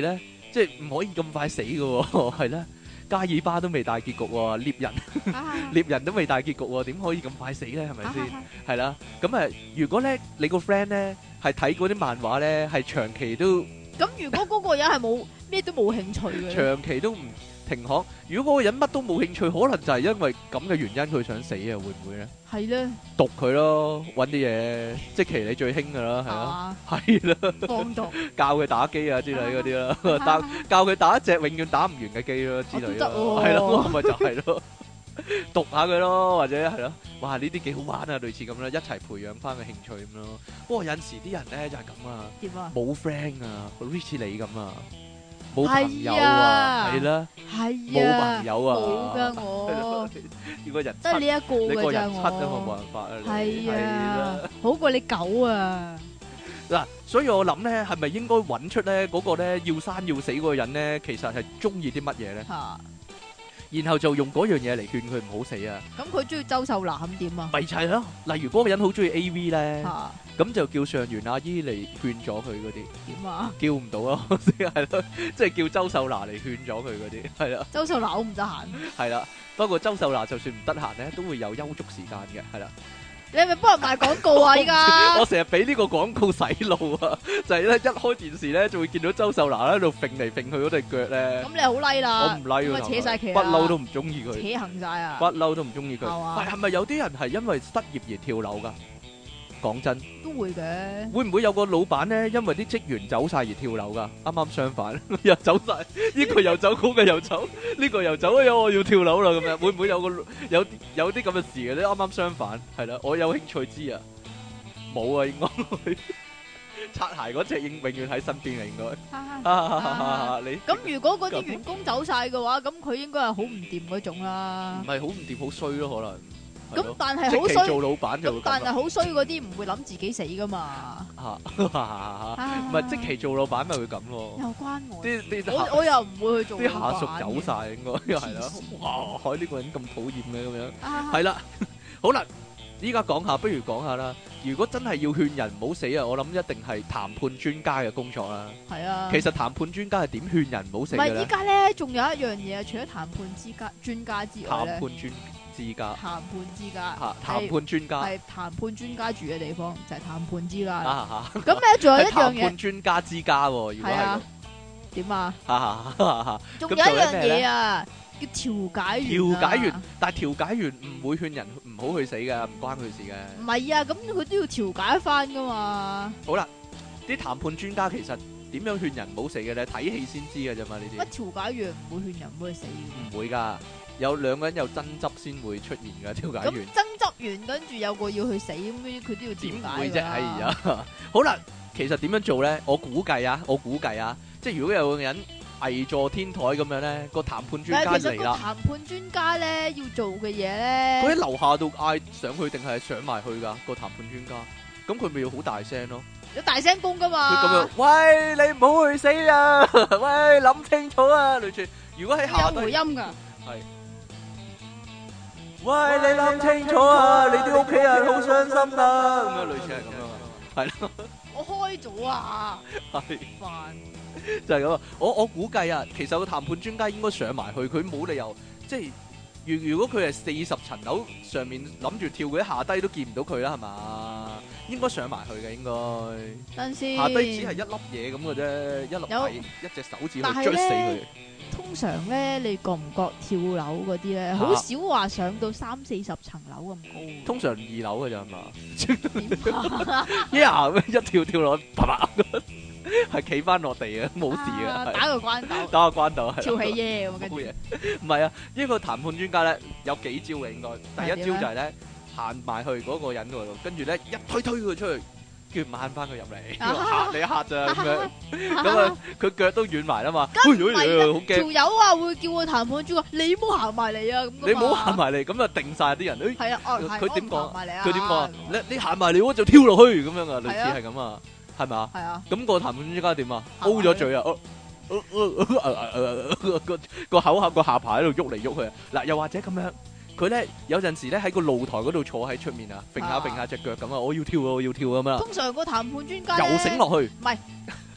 即係唔可以咁快死嘅喎，係啦。加爾巴都未大結局喎，獵人獵人都未大結局喎，點可以咁快死咧？係咪先？係啦，咁誒，如果咧你個 friend 咧係睇嗰啲漫畫咧，係長期都咁，如果嗰個人係冇咩都冇興趣嘅， 長期都唔停學，如果嗰個人乜都冇興趣，可能就係因為咁嘅原因佢想死啊？會唔會咧？ 係咧， 毒佢咯，揾啲嘢，即其你最興噶啦，係咯，係啦， 放毒， 教佢打機啊之類嗰啲啦，教教佢打一隻永遠打唔完嘅機咯之類咯，係咯，咪就係咯，毒下佢咯，或者係咯，哇呢啲幾好玩啊，類似咁啦，一齊培養翻個興趣咁咯。不過有陣時啲人咧就係咁啊， 點啊？ 冇 friend 啊，好似你咁啊。冇朋友啊，係啦， 係啊，冇朋友啊， 冇噶我， 如果人得你一個你個嘅咋人七啊嘛，冇我， 辦法啊， 係啊， 啦， 好過你狗啊！ 嗱，所以我諗咧，係咪應該揾出咧嗰個咧要生要死嗰個人咧，其實係中意啲乜嘢咧？ 嚇， 然後就用嗰樣嘢嚟勸佢唔好死啊！ 咁佢中意周秀娜咁點啊？ 咪就係咯，例如嗰個人好中意 A V 咧。 嚇， 咁就叫上元阿姨嚟勸咗佢嗰啲， 點啊？ 叫唔到咯，係咯，即係叫周秀娜嚟勸咗佢嗰啲，係啦， 周秀娜好唔得閒， 係啦。不過周秀娜就算唔得閒咧，都會有休息時間嘅，係啦。 你係咪幫人賣廣告啊？依家我成日俾呢個廣告洗腦啊，就係咧一開電視咧，就會見到周秀娜喺度揈嚟揈去嗰對腳咧。 咁你好 like 啦， 我唔 like 咁啊扯晒旗， 不嬲都唔中意佢， 扯行晒啊， 不嬲都唔中意佢。 係嘛？ 係係咪有啲人係因為失業而跳樓㗎？講真， 都會嘅。 會唔會有個老闆咧，因為啲職員走晒而跳樓㗎？啱啱相反，又走晒，呢個又走，嗰個又走，呢個又走，哎我要跳樓啦咁樣，會唔會有個有有啲咁嘅事嘅咧？啱啱相反，係啦，我有興趣知啊，冇啊，應該擦鞋嗰隻永永遠喺身邊啊，應該。你咁如果嗰啲員工走晒嘅話，咁佢應該係好唔掂嗰種啦。 唔係好唔掂，好衰咯，可能。 咁但係好衰， 做老闆就會咁。 但係好衰嗰啲唔會諗自己死噶嘛。 嚇，唔係即期做老闆咪會咁咯。 又關我。 啲啲我我又唔會去做。 啲下屬走晒應該又係啦。哇！呢個人咁討厭嘅咁樣。係啦，好啦，依家講下，不如講下啦。如果真係要勸人唔好死啊，我諗一定係談判專家嘅工作啦。 係啊。其實談判專家係點勸人唔好死嘅咧？ 唔係依家咧，仲有一樣嘢，除咗談判之家專家之外咧。談判專之家， 談判之家， 嚇談判專家，係談判專家住嘅地方就係談判之家啦。咁咧仲有一樣嘢，談判專家之家喎，如果係點啊？仲有一樣嘢啊，叫調解員。調解員，但係調解員唔會勸人唔好去死㗎，唔關佢事嘅。唔係啊，咁佢都要調解翻㗎嘛。好啦，啲談判專家其實點樣勸人唔好死嘅咧？睇戲先知㗎啫嘛，呢啲。乜調解員唔會勸人唔好去死？唔會㗎。有兩個人有爭執先會出現嘅調解員。咁爭執完跟住有個要去死咁樣，佢都要調解㗎。點會啫？哎呀，好啦，其實點樣做咧？我估計啊，我估計啊，即係如果有個人危坐天台咁樣咧，個談判專家嚟啦。其實個談判專家咧要做嘅嘢咧，佢喺樓下度嗌上去定係上埋去㗎？個談判專家，咁佢咪要好大聲咯？有大聲公㗎嘛？佢咁樣，喂，你唔好去死啊！喂，諗清楚啊！類似，如果喺下低有回音㗎，係。喂，你諗清楚啊！你啲屋企人好傷心啊！咁樣類似係咁樣啊，係咯。我開咗啊，係煩就係咁啊！我我估計啊，其實個談判專家應該上埋去，佢冇理由即係如如果佢係四十層樓上面諗住跳，佢下低都見唔到佢啦，係嘛？應該上埋去嘅應該。等先。下低只係一粒嘢咁嘅啫，一粒係一隻手指去捽死佢。通常咧，你覺唔覺跳樓嗰啲咧，好少話上到三四十層樓咁高。通常二樓嘅咋係嘛？一下一跳跳落，啪啪，係企翻落地啊，冇事嘅。打個關鬥，打個關鬥係。跳起耶咁嘅嘢。唔係啊，呢個談判專家咧有幾招嘅應該。第一招就係咧行埋去嗰個人嗰度，跟住咧一推推佢出去。叫掹翻佢入嚟，嚇你一嚇咋咁樣，咁啊佢腳都軟埋啦嘛，好驚。條友啊會叫個談判專家，你唔好行埋嚟啊咁。你唔好行埋嚟，咁啊定晒啲人。誒，係啊，佢點講？佢點講？你你行埋嚟我就跳落去咁樣啊，類似係咁啊，係咪啊？係啊。咁個談判專家點啊？O咗嘴啊！個個口下個下巴喺度喐嚟喐去。嗱，又或者咁樣。佢咧有陣時咧喺個露台嗰度坐喺出面啊，揈下揈下隻腳咁啊，我要跳啊，我要跳咁啊。通常個談判專家又醒落去，唔係，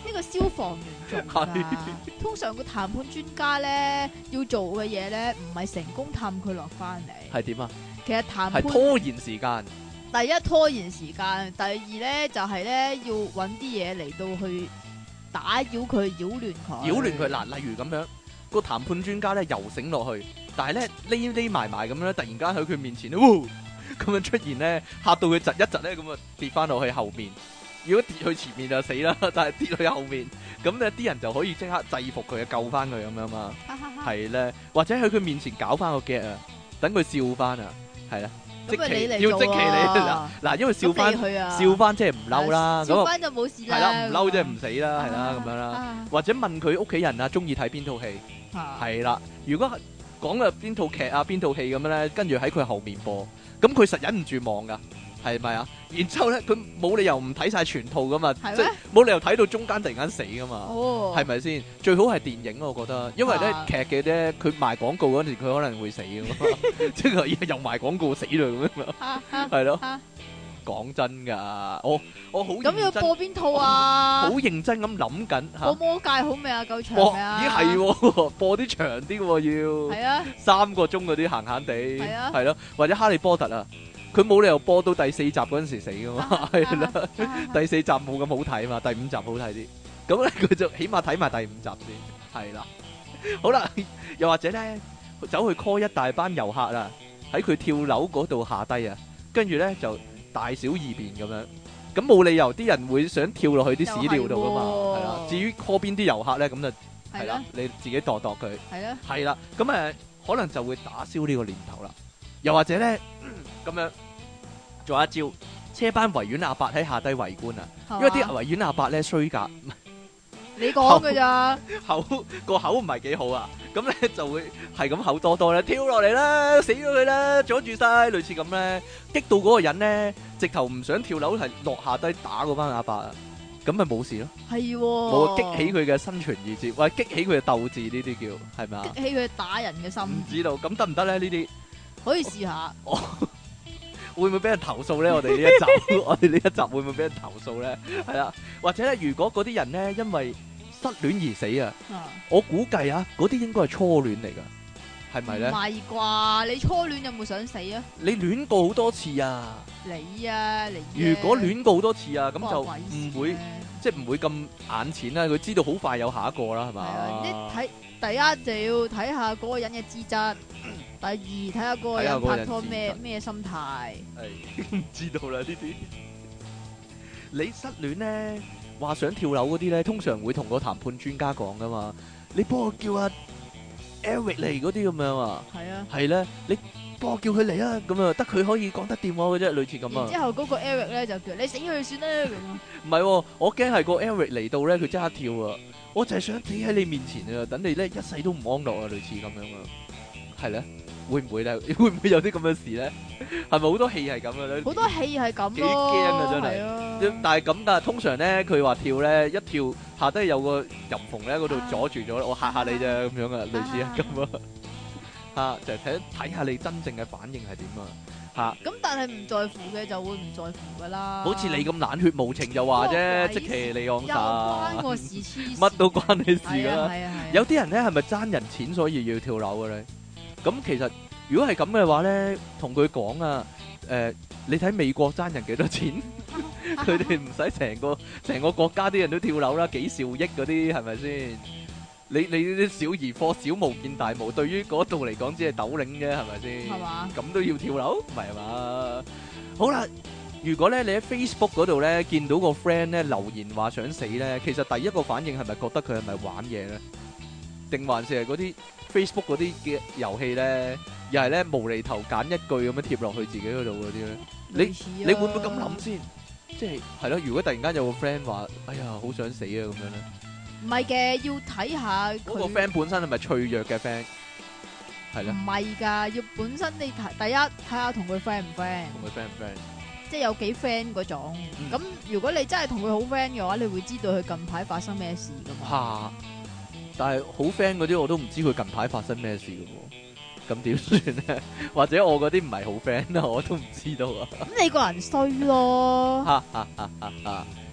呢個消防員做㗎。通常個談判專家咧要做嘅嘢咧，唔係成功氹佢落翻嚟。 係點啊？ 其實談判係拖延時間。 第一拖延時間，第二咧就係、是、咧要揾啲嘢嚟到去打擾佢、擾亂佢。 擾亂佢嗱，例如咁樣，個談判專家咧游繩落去，但係咧匿匿埋埋咁樣咧，突然間喺佢面前咧，咁樣出現咧，嚇到佢窒一窒咧，咁啊跌翻落去後面。如果跌去前面就死啦，但係跌去後面，咁咧啲人就可以即刻制服佢，救翻佢咁樣嘛。係咧，或者喺佢面前搞翻個 get 啊，等佢笑翻啊，係啦。 咁咪你嚟要即期你嗱嗱，因為笑翻啊、 笑翻即係唔嬲啦， 笑翻就冇事啦。 係啦，唔嬲即係唔死啦，係啦咁樣啦。或者問佢屋企人啊，中意睇邊套戲？係啦，如果講嘅邊套劇啊，邊套戲咁樣咧，跟住喺佢後面播，咁佢實忍唔住望噶，係咪啊？然之後咧，佢冇理由唔睇晒全套噶嘛，即係冇理由睇到中間突然間死噶嘛，係咪先？最好係電影我覺得，因為咧劇嘅咧，佢賣廣告嗰陣時，佢可能會死噶嘛，即係又賣廣告死啦咁樣，係咯。講真噶，我我好咁要播邊套啊？ 好認真咁諗緊吓。 播魔戒好未啊？夠長未啊？ 咦係，播啲長啲嘅要。係啊， 三個鐘嗰啲閒閒地。係啊， 係咯，或者哈利波特啊，佢冇理由播到第四集嗰陣時死噶嘛，係啦，第四集冇咁好睇嘛，第五集好睇啲。咁咧佢就起碼睇埋第五集先，係啦。好啦，又或者咧，走去 call 一大班遊客啊，喺佢跳樓嗰度下低啊，跟住咧就。大小二便咁樣，咁冇理由啲人會想跳落去啲屎尿度噶嘛，係啦。至於 call 邊啲遊客咧，咁就係啦，你自己度度佢，係啦，係啦。咁誒，可能就會打消呢個念頭啦。又或者咧，咁樣做一招，車班維園阿伯喺下低圍觀啊，因為啲維園阿伯咧衰格。 你講㗎咋？ 口個口唔係幾好啊，咁咧就會係咁口多多咧，跳落嚟啦，死咗佢啦，阻住晒，類似咁咧，激到嗰個人咧，直頭唔想跳樓，係落下低打嗰班阿伯啊，咁咪冇事咯。係，冇激起佢嘅生存意志，或者激起佢嘅鬥志，呢啲叫係咪啊？ 激起佢打人嘅心。 唔知道，咁得唔得咧？呢啲可以試下。 會唔會俾人投訴咧？我哋呢一集，我哋呢一集會唔會俾人投訴咧？係啦，或者咧，如果嗰啲人咧，因為失戀而死啊！我估計啊，嗰啲應該係初戀嚟噶，係咪咧？唔係啩？你初戀有冇想死啊？ 你戀過好多次啊！ 你啊，你如果戀過好多次啊，咁就唔會即係唔會咁眼淺啦。佢知道好快有下一個啦，係嘛？ 你睇第一就要睇下嗰個人嘅資質，第二睇下嗰個人拍拖咩咩心態。 係唔知道啦呢啲。你失戀咧？話想跳樓嗰啲咧，通常會同個談判專家講噶嘛。你幫我叫阿 Eric 嚟嗰啲咁樣啊。係啊。係咧，你幫我叫佢嚟啊，咁啊，得佢可以講得掂我嘅啫，類似咁啊。然之後嗰個 Eric 咧就叫你死佢算啦咁啊。 唔係，我驚係個 Eric 嚟到咧，佢即刻跳啊！我就係想企喺你面前啊，等你咧一世都唔安樂啊，類似咁樣啊。係咧。會唔會咧？會唔會有啲咁嘅事咧？係咪好多戲係咁嘅咧？ 好多戲係咁咯， 幾驚啊真係！但係咁噶，通常咧佢話跳咧，一跳下低有個入縫咧，嗰度阻住咗，我嚇下你啫咁樣啊，類似啊咁啊嚇，就係睇睇下你真正嘅反應係點啊嚇。咁但係唔在乎嘅就會唔在乎噶啦。 好似你咁冷血無情就話啫，積淇離岸神， 關我事黐， 乜都關你事噶啦。有啲人咧係咪爭人錢所以要跳樓嘅咧？咁其實如果係咁嘅話咧，同佢講啊，誒，你睇美國爭人幾多錢，佢哋唔使成個成個國家啲人都跳樓啦，幾兆億嗰啲係咪先？你你啲小兒科小巫見大巫，對於嗰度嚟講只係斗零啫，係咪先？係嘛？咁都要跳樓，唔係嘛？好啦，如果咧你喺 Facebook 嗰度咧見到個 friend 咧留言話想死咧，其實第一個反應係咪覺得佢係咪玩嘢咧？定還是係嗰啲 Facebook 嗰啲嘅遊戲咧，又係咧無厘頭揀一句咁樣貼落去自己嗰度嗰啲咧？你你會唔會咁諗先？即係係咯，如果突然間有個 friend 話，哎呀好想死啊咁樣咧？ 唔係嘅，要睇下嗰個 friend 本身係咪脆弱嘅 friend？係咧？ 唔係㗎，要本身你睇第一睇下同佢 friend 唔 friend？ 同佢 friend 唔 friend？ 即係有幾 friend 嗰種。咁、嗯、如果你真係同佢好 friend 嘅話，你會知道佢近排發生咩事㗎嘛？嚇！ 但係好 friend 嗰啲我都唔知佢近排發生咩事嘅喎，咁點算咧？或者我嗰啲唔係好 friend 啊，我都唔知道啊。 咁你個人衰咯。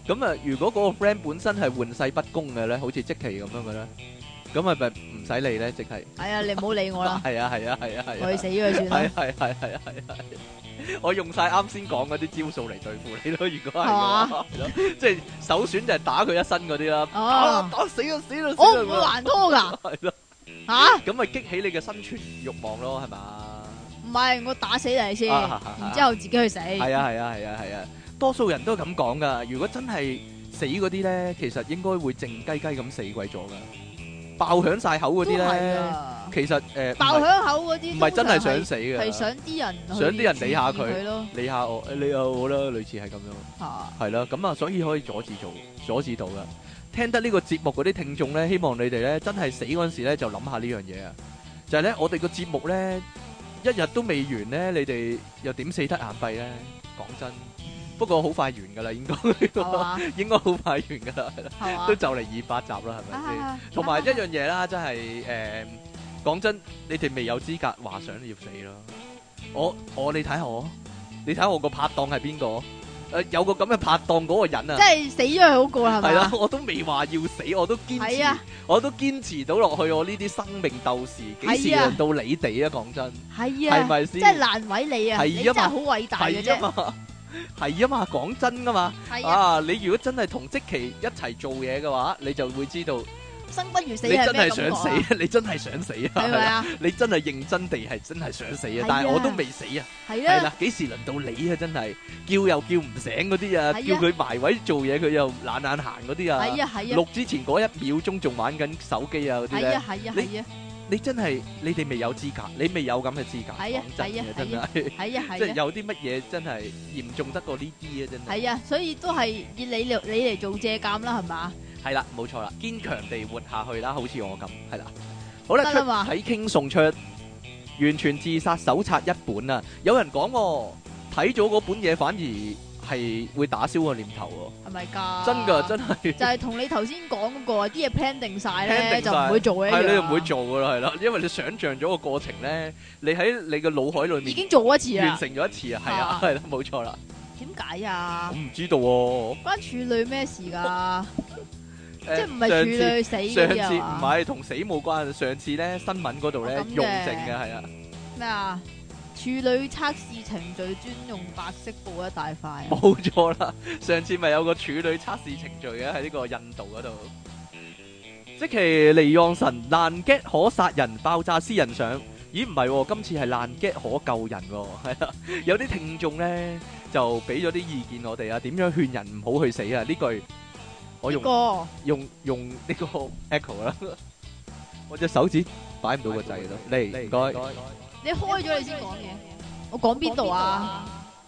咁啊，如果嗰個 friend 本身係玩世不恭嘅咧，好似積淇咁樣嘅咧，咁係咪唔使理咧？即係係啊，你唔好理我啦。 係啊係啊係啊係啊， 去死佢算啦。 係係係係係係，我用晒啱先講嗰啲招數嚟對付你咯。如果係嘅話，係咯，即係首選就係打佢一身嗰啲啦。 哦， 打死啊死啦！ 我唔會還拖㗎。 係咯， 嚇？ 咁咪激起你嘅生存慾望咯，係嘛？ 唔係，我打死你先， 啊然之後自己去死。 係啊係啊係啊係啊，多數人都係咁講噶。如果真係死嗰啲咧，其實應該會靜雞雞咁死鬼咗噶。爆響晒口嗰啲咧，其實誒爆響口嗰啲唔係真係想死嘅， 係想啲人想啲人理下佢咯， 理下我，理下我啦，類似係咁樣。 嚇， 係啦，咁啊，所以可以阻止做，阻止到噶。聽得呢個節目嗰啲聽眾咧，希望你哋咧真係死嗰陣時咧，就諗下呢樣嘢啊，就係咧我哋個節目咧。一日都未完咧，你哋又點死得眼閉咧？講真，不過好快完噶啦，應該應該好快完噶啦，係啦，都就嚟二百集啦，係咪先？同埋一樣嘢啦，真係誒，講真，你哋未有資格話想要死咯。我我你睇下我，你睇下我個拍檔係邊個？誒，有個咁嘅拍檔嗰個人啊， 即係死咗係好過係咪？ 係啦，我都未話要死，我都堅持，我都堅持到落去。我呢啲生命鬥士，幾時輪到你哋啊？講真， 係啊， 係咪先？ 即係難為你啊！你真係好偉大嘅啫。 係啊嘛，係啊嘛，講真噶嘛。啊，你如果真係同積淇一齊做嘢嘅話，你就會知道。 生不如死， 你真係想死啊！你真係想死啊！ 係咪啊？ 你真係認真地係真係想死啊！但係我都未死啊！ 係啊！ 係啦，幾時輪到你啊？真係叫又叫唔醒嗰啲啊！叫佢埋位做嘢，佢又懶懶行嗰啲啊！ 係啊係啊！ 錄之前嗰一秒鐘仲玩緊手機啊嗰啲咧！ 係啊係啊係啊！ 你真係你哋未有資格，你未有咁嘅資格。 係啊係啊真係係啊係啊！ 即係有啲乜嘢真係嚴重得過呢啲啊！真係。 係啊，所以都係以你嚟你嚟做借鑑啦，係嘛？ 係啦，冇錯啦，堅強地活下去啦，好似我咁，係啦。好啦，出體 king送出完全自殺手冊一本啊！有人講睇咗嗰本嘢，反而係會打消個念頭喎。係咪㗎？真㗎，真係。就係同你頭先講嗰個啲嘢 plan 定曬咧，就唔會做嘅。係你就唔會做㗎啦，係啦，因為你想像咗個過程咧，你喺你嘅腦海裏面已經做一次啦，完成咗一次啊，係啊，係啦，冇錯啦。點解啊？我唔知道喎。關處女咩事㗎？即係唔係處女死嗰啲啊？上次唔係同死冇關，上次咧新聞嗰度咧用證嘅係啊。咩啊？處女測試程序專用白色布一大塊。冇錯啦，上次咪有個處女測試程序嘅喺呢個印度嗰度。積淇離岸神爛 gag 可殺人，爆炸私人相。咦唔係，今次係爛 gag可救人喎。係啊，有啲聽眾咧就俾咗啲意見我哋啊，點樣勸人唔好去死啊？呢句。我用用用呢個 echo 啦，我隻手指擺唔到個掣咯。嚟，唔該。你開咗你先講嘢。我講邊度啊？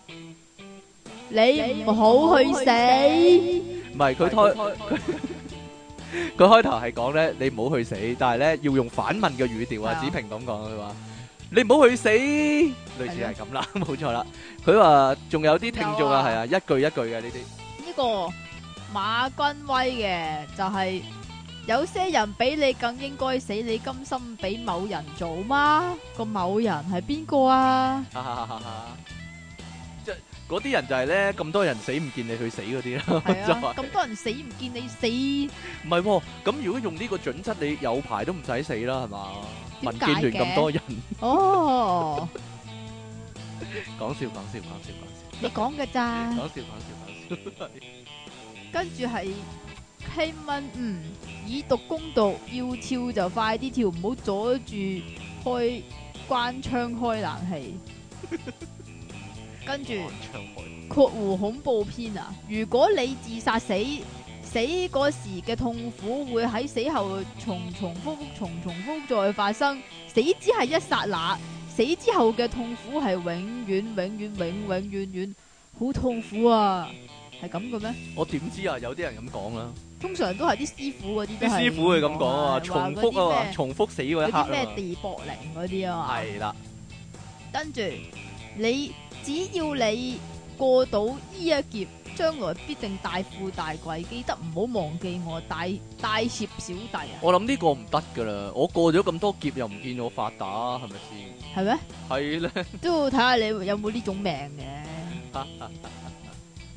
你唔好去死。唔係佢開佢開頭係講咧，你唔好去死，但係咧要用反問嘅語調啊。子平咁講佢話：你唔好去死，類似係咁啦，冇錯啦。佢話仲有啲聽眾啊，係啊，一句一句嘅呢啲。呢個。馬君威嘅就係、是、有些人比你更應該死，你甘心俾某人做嗎？個某人係邊個啊？即係嗰啲人就係咧，咁多人死唔見你去死嗰啲啦。係啊，咁多人死唔見你死。唔係喎，咁如果用呢個準則，你有排都唔使死啦，係嘛？民建聯咁多人。哦，講笑講笑講笑講笑，你講嘅咋？講笑講笑講笑。跟住係希文，嗯，以毒攻毒，要跳就快啲跳，唔好阻住開關窗開冷氣。跟住括弧恐怖片啊！如果你自殺死，死嗰時嘅痛苦會喺死後重重複複、重重複複再發生。死只係一剎那，死之後嘅痛苦係永遠、永遠、永永遠遠，好痛苦啊！係咁嘅咩？我點知啊？有啲人咁講啦。通常都係啲師傅嗰啲，啲師傅會咁講啊，重複啊，重複死嗰一刻啊。咩地縛靈嗰啲啊嘛。係啦。跟住你只要你過到呢一劫，將來必定大富大貴。記得唔好忘記我，大大攝小弟啊！我諗呢個唔得噶啦，我過咗咁多劫又唔見我發達，係咪先？係咩？係咧。都要睇下你有冇呢種命嘅。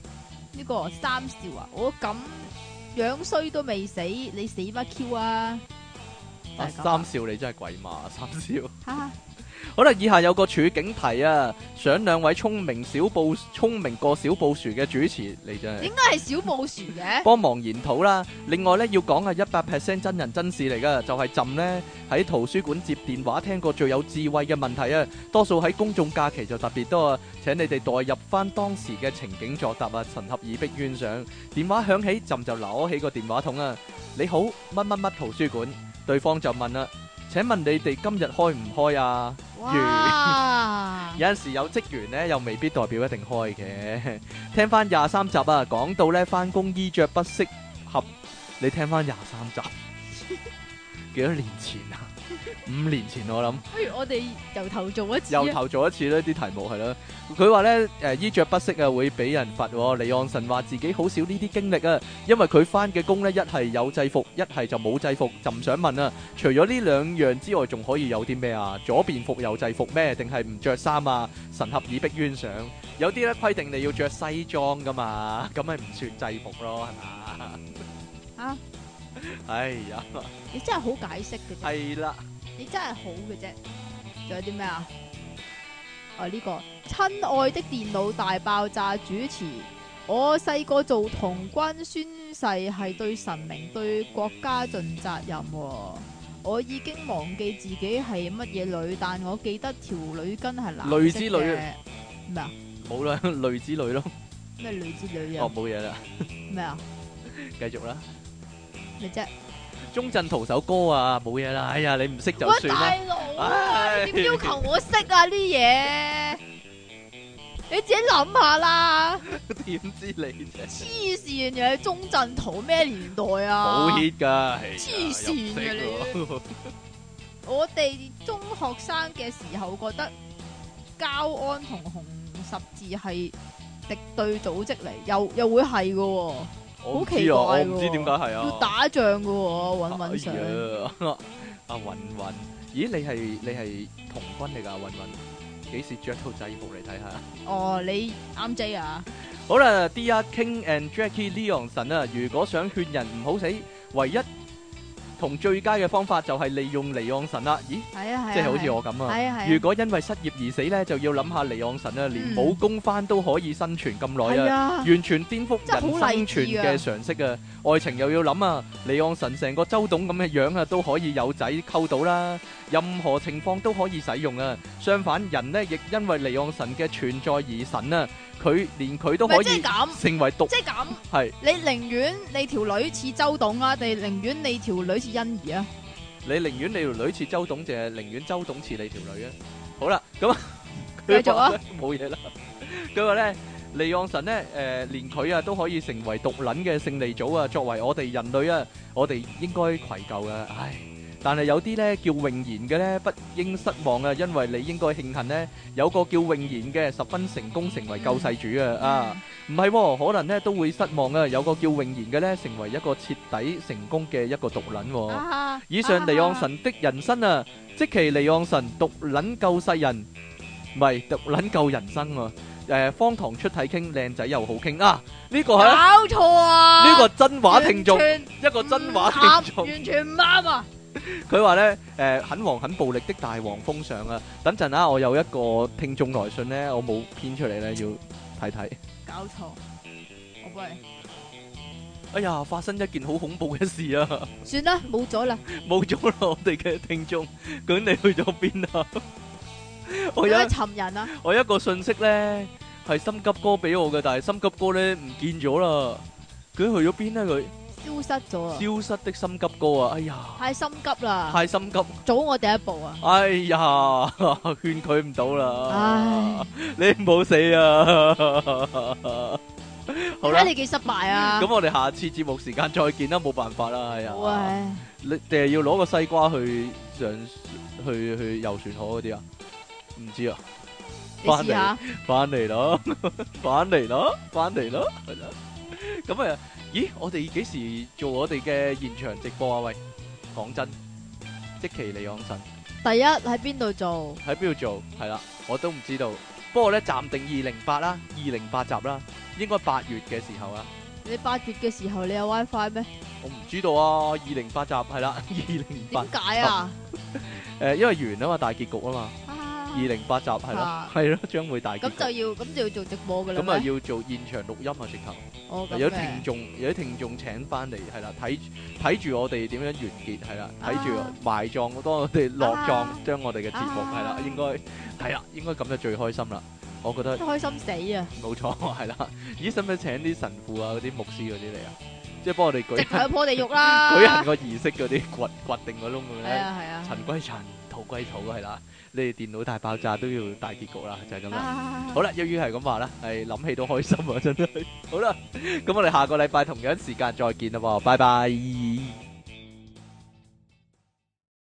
呢個三少啊，我咁樣衰都未死，你死乜 Q 啊？就係咁啊三少你真係鬼馬，三少。 哈哈， 好啦，以下有個處境題啊，想兩位聰明小布聰明過小布殊嘅主持，你真係點解係小布殊嘅？ 幫忙研討啦。另外咧，要講係一百 percent 真人真事嚟噶，就係朕呢喺圖書館接電話聽過最有智慧嘅問題啊，多數喺公眾假期就特別多啊。請你哋代入翻當時嘅情景作答啊，神合耳壁冤上。電話響起，朕就攞起個電話筒啊，你好，乜乜乜圖書館，對方就問啦，請問你哋今日開唔開啊？ 哇！ 有陣時有職員咧，又未必代表一定開嘅。聽翻廿三集啊，講到咧翻工衣着不適合，你聽翻廿三集，幾多年前啊？五年前我諗。 不如我哋由頭做一次啊。 由頭做一次呢啲題目係咯。佢話咧誒衣着不適啊，會俾人罰喎。離岸神話自己好少呢啲經歷啊，因為佢翻嘅工咧一係有制服，一係就冇制服。就唔想問啊，除咗呢兩樣之外，仲可以有啲咩啊？左便服有制服咩？定係唔着衫啊？神合耳壁冤上。有啲咧規定你要着西裝噶嘛，咁咪唔算制服咯，係嘛？ 啊！ 哎呀， 你真係好解釋嘅啫。 係啦。 你真係好嘅啫，仲有啲咩啊？哦，呢個親愛的電腦大爆炸主持，我細個做童軍宣誓係對神明對國家盡責任喎。我已經忘記自己係乜嘢女，但我記得條女巾係藍色嘅。 女之女咩啊？ 冇啦，女之女咯。 咩女之女啊？ 哦，冇嘢啦。 咩啊？ 繼續啦。 咩啫？ 鐘鎮濤首歌啊，冇嘢啦。哎呀，你唔識就喂， 算啦。 大佬啊，你點要求我識啊啲嘢？你自己諗下啦。 點知你啫？ 黐線嘅，鐘鎮濤咩年代啊？ 好 hit 噶， 黐線嘅你。我哋中學生嘅時候覺得膠安同紅十字係敵對組織嚟，又又會係嘅。好奇怪， 我唔知點解係啊！ 要打仗嘅喎，韻韻上。 阿韻韻，咦？你係你係童軍嚟㗎？韻韻，幾時着套制服嚟睇下？ 哦，你啱 J 啊！ 好啦 ，Dear King and Jackie Leon 神啊，如果想勸人唔好死，唯一同最佳嘅方法就係利用離岸神啦。咦？ 係啊係啊， 即係好似我咁啊。 係啊係啊。 如果因為失業而死咧，就要諗下離岸神啊，連冇工返都可以生存咁耐啊，完全顛覆人生存嘅常識啊！愛情又要諗啊，離岸神成個周董咁嘅樣啊，都可以有仔溝到啦，任何情況都可以使用啊。相反，人咧亦因為離岸神嘅存在而神啊。佢連佢都可以成為獨， 即係咁， 係你寧願你條女似周董啊，定寧願你條女似欣宜啊？ 你寧願你條女似周董，定係寧願周董似你條女啊？好啦，咁繼續啊， 冇嘢啦。佢話咧，離岸神咧，誒，連佢啊都可以成為獨撚嘅勝利組啊！作為我哋人類啊，我哋應該愧疚嘅，唉。但係有啲咧叫穎賢嘅咧，不應失望啊！因為你應該慶幸咧，有個叫穎賢嘅十分成功，成為救世主啊！啊，唔係，可能咧都會失望啊！有個叫穎賢嘅咧，成為一個徹底成功嘅一個獨撚。以上離岸神的人生啊，即其離岸神獨撚救世人，唔係獨撚救人生啊！誒，荒唐出體傾，靚仔又好傾啊！呢個係搞錯啊！ 呢個真話聽眾，一個真話聽眾， 完全唔啱啊！ 佢話咧，誒，很黃很暴力的大黃蜂上啊！等陣啊，我有一個聽眾來信咧，我冇編出嚟咧，要睇睇。 搞錯，我幫你。 哎呀，發生一件好恐怖嘅事啊！ 算啦，冇咗啦， 冇咗啦，我哋嘅聽眾，究竟你去咗邊啊？我有尋人啊！ 我一個信息咧係心急哥俾我嘅，但係心急哥咧唔見咗啦，佢去咗邊咧？佢消失咗啊！ 消失的心急哥啊！哎呀， 太心急啦！ 太心急， 早我第一步啊！ 哎呀，勸佢唔到啦！ 唉， 你唔好死啊！好啦， 睇你幾失敗啊！ 咁我哋下次節目時間再見啦，冇辦法啦，係啊！ 喂， 你定係要攞個西瓜去上去去遊船河嗰啲啊？唔知啊，翻嚟翻嚟咯，翻嚟咯，翻嚟咯，係啦。咁啊，咦？我哋幾時做我哋嘅現場直播啊？喂，講真，積淇離岸神。 第一喺邊度做？ 喺邊度做？係啦，我都唔知道。 不過咧暫定二零八啦，二零八集啦，應該八月嘅時候啊。 你八月嘅時候你有 WiFi 咩？ 我唔知道啊，二零八集係啦，二零八。 點解啊？ 誒，因為完啊嘛，大結局啊嘛。二零八集係咯， 啊係咯，將會大結局。 咁就要咁就要做直播噶啦咁啊咩？ 要做現場錄音啊，直頭。 哦，咁有嘅聽眾，有啲聽眾請翻嚟，係啦，睇睇住我哋點樣完結，係啦，睇住啊埋葬，當我哋落葬啊， 將我哋嘅節目啊係啦，應該係啦，應該咁就最開心啦。我覺得開心死啊！ 冇錯，係啦。咦，使唔使請啲神父啊、嗰啲牧師嗰啲嚟啊？即係幫我哋舉直頭去破地獄啦！ 舉行個儀式嗰啲，掘掘定個窿咁係樣。 啊係啊。 塵歸塵，土歸土，係啦。你哋電腦大爆炸都要大結局啦，就係咁啦。 啊好啦，一於係咁話啦，係諗起都開心啊，真係。好啦，咁我哋下個禮拜同樣時間再見啦喎，拜拜。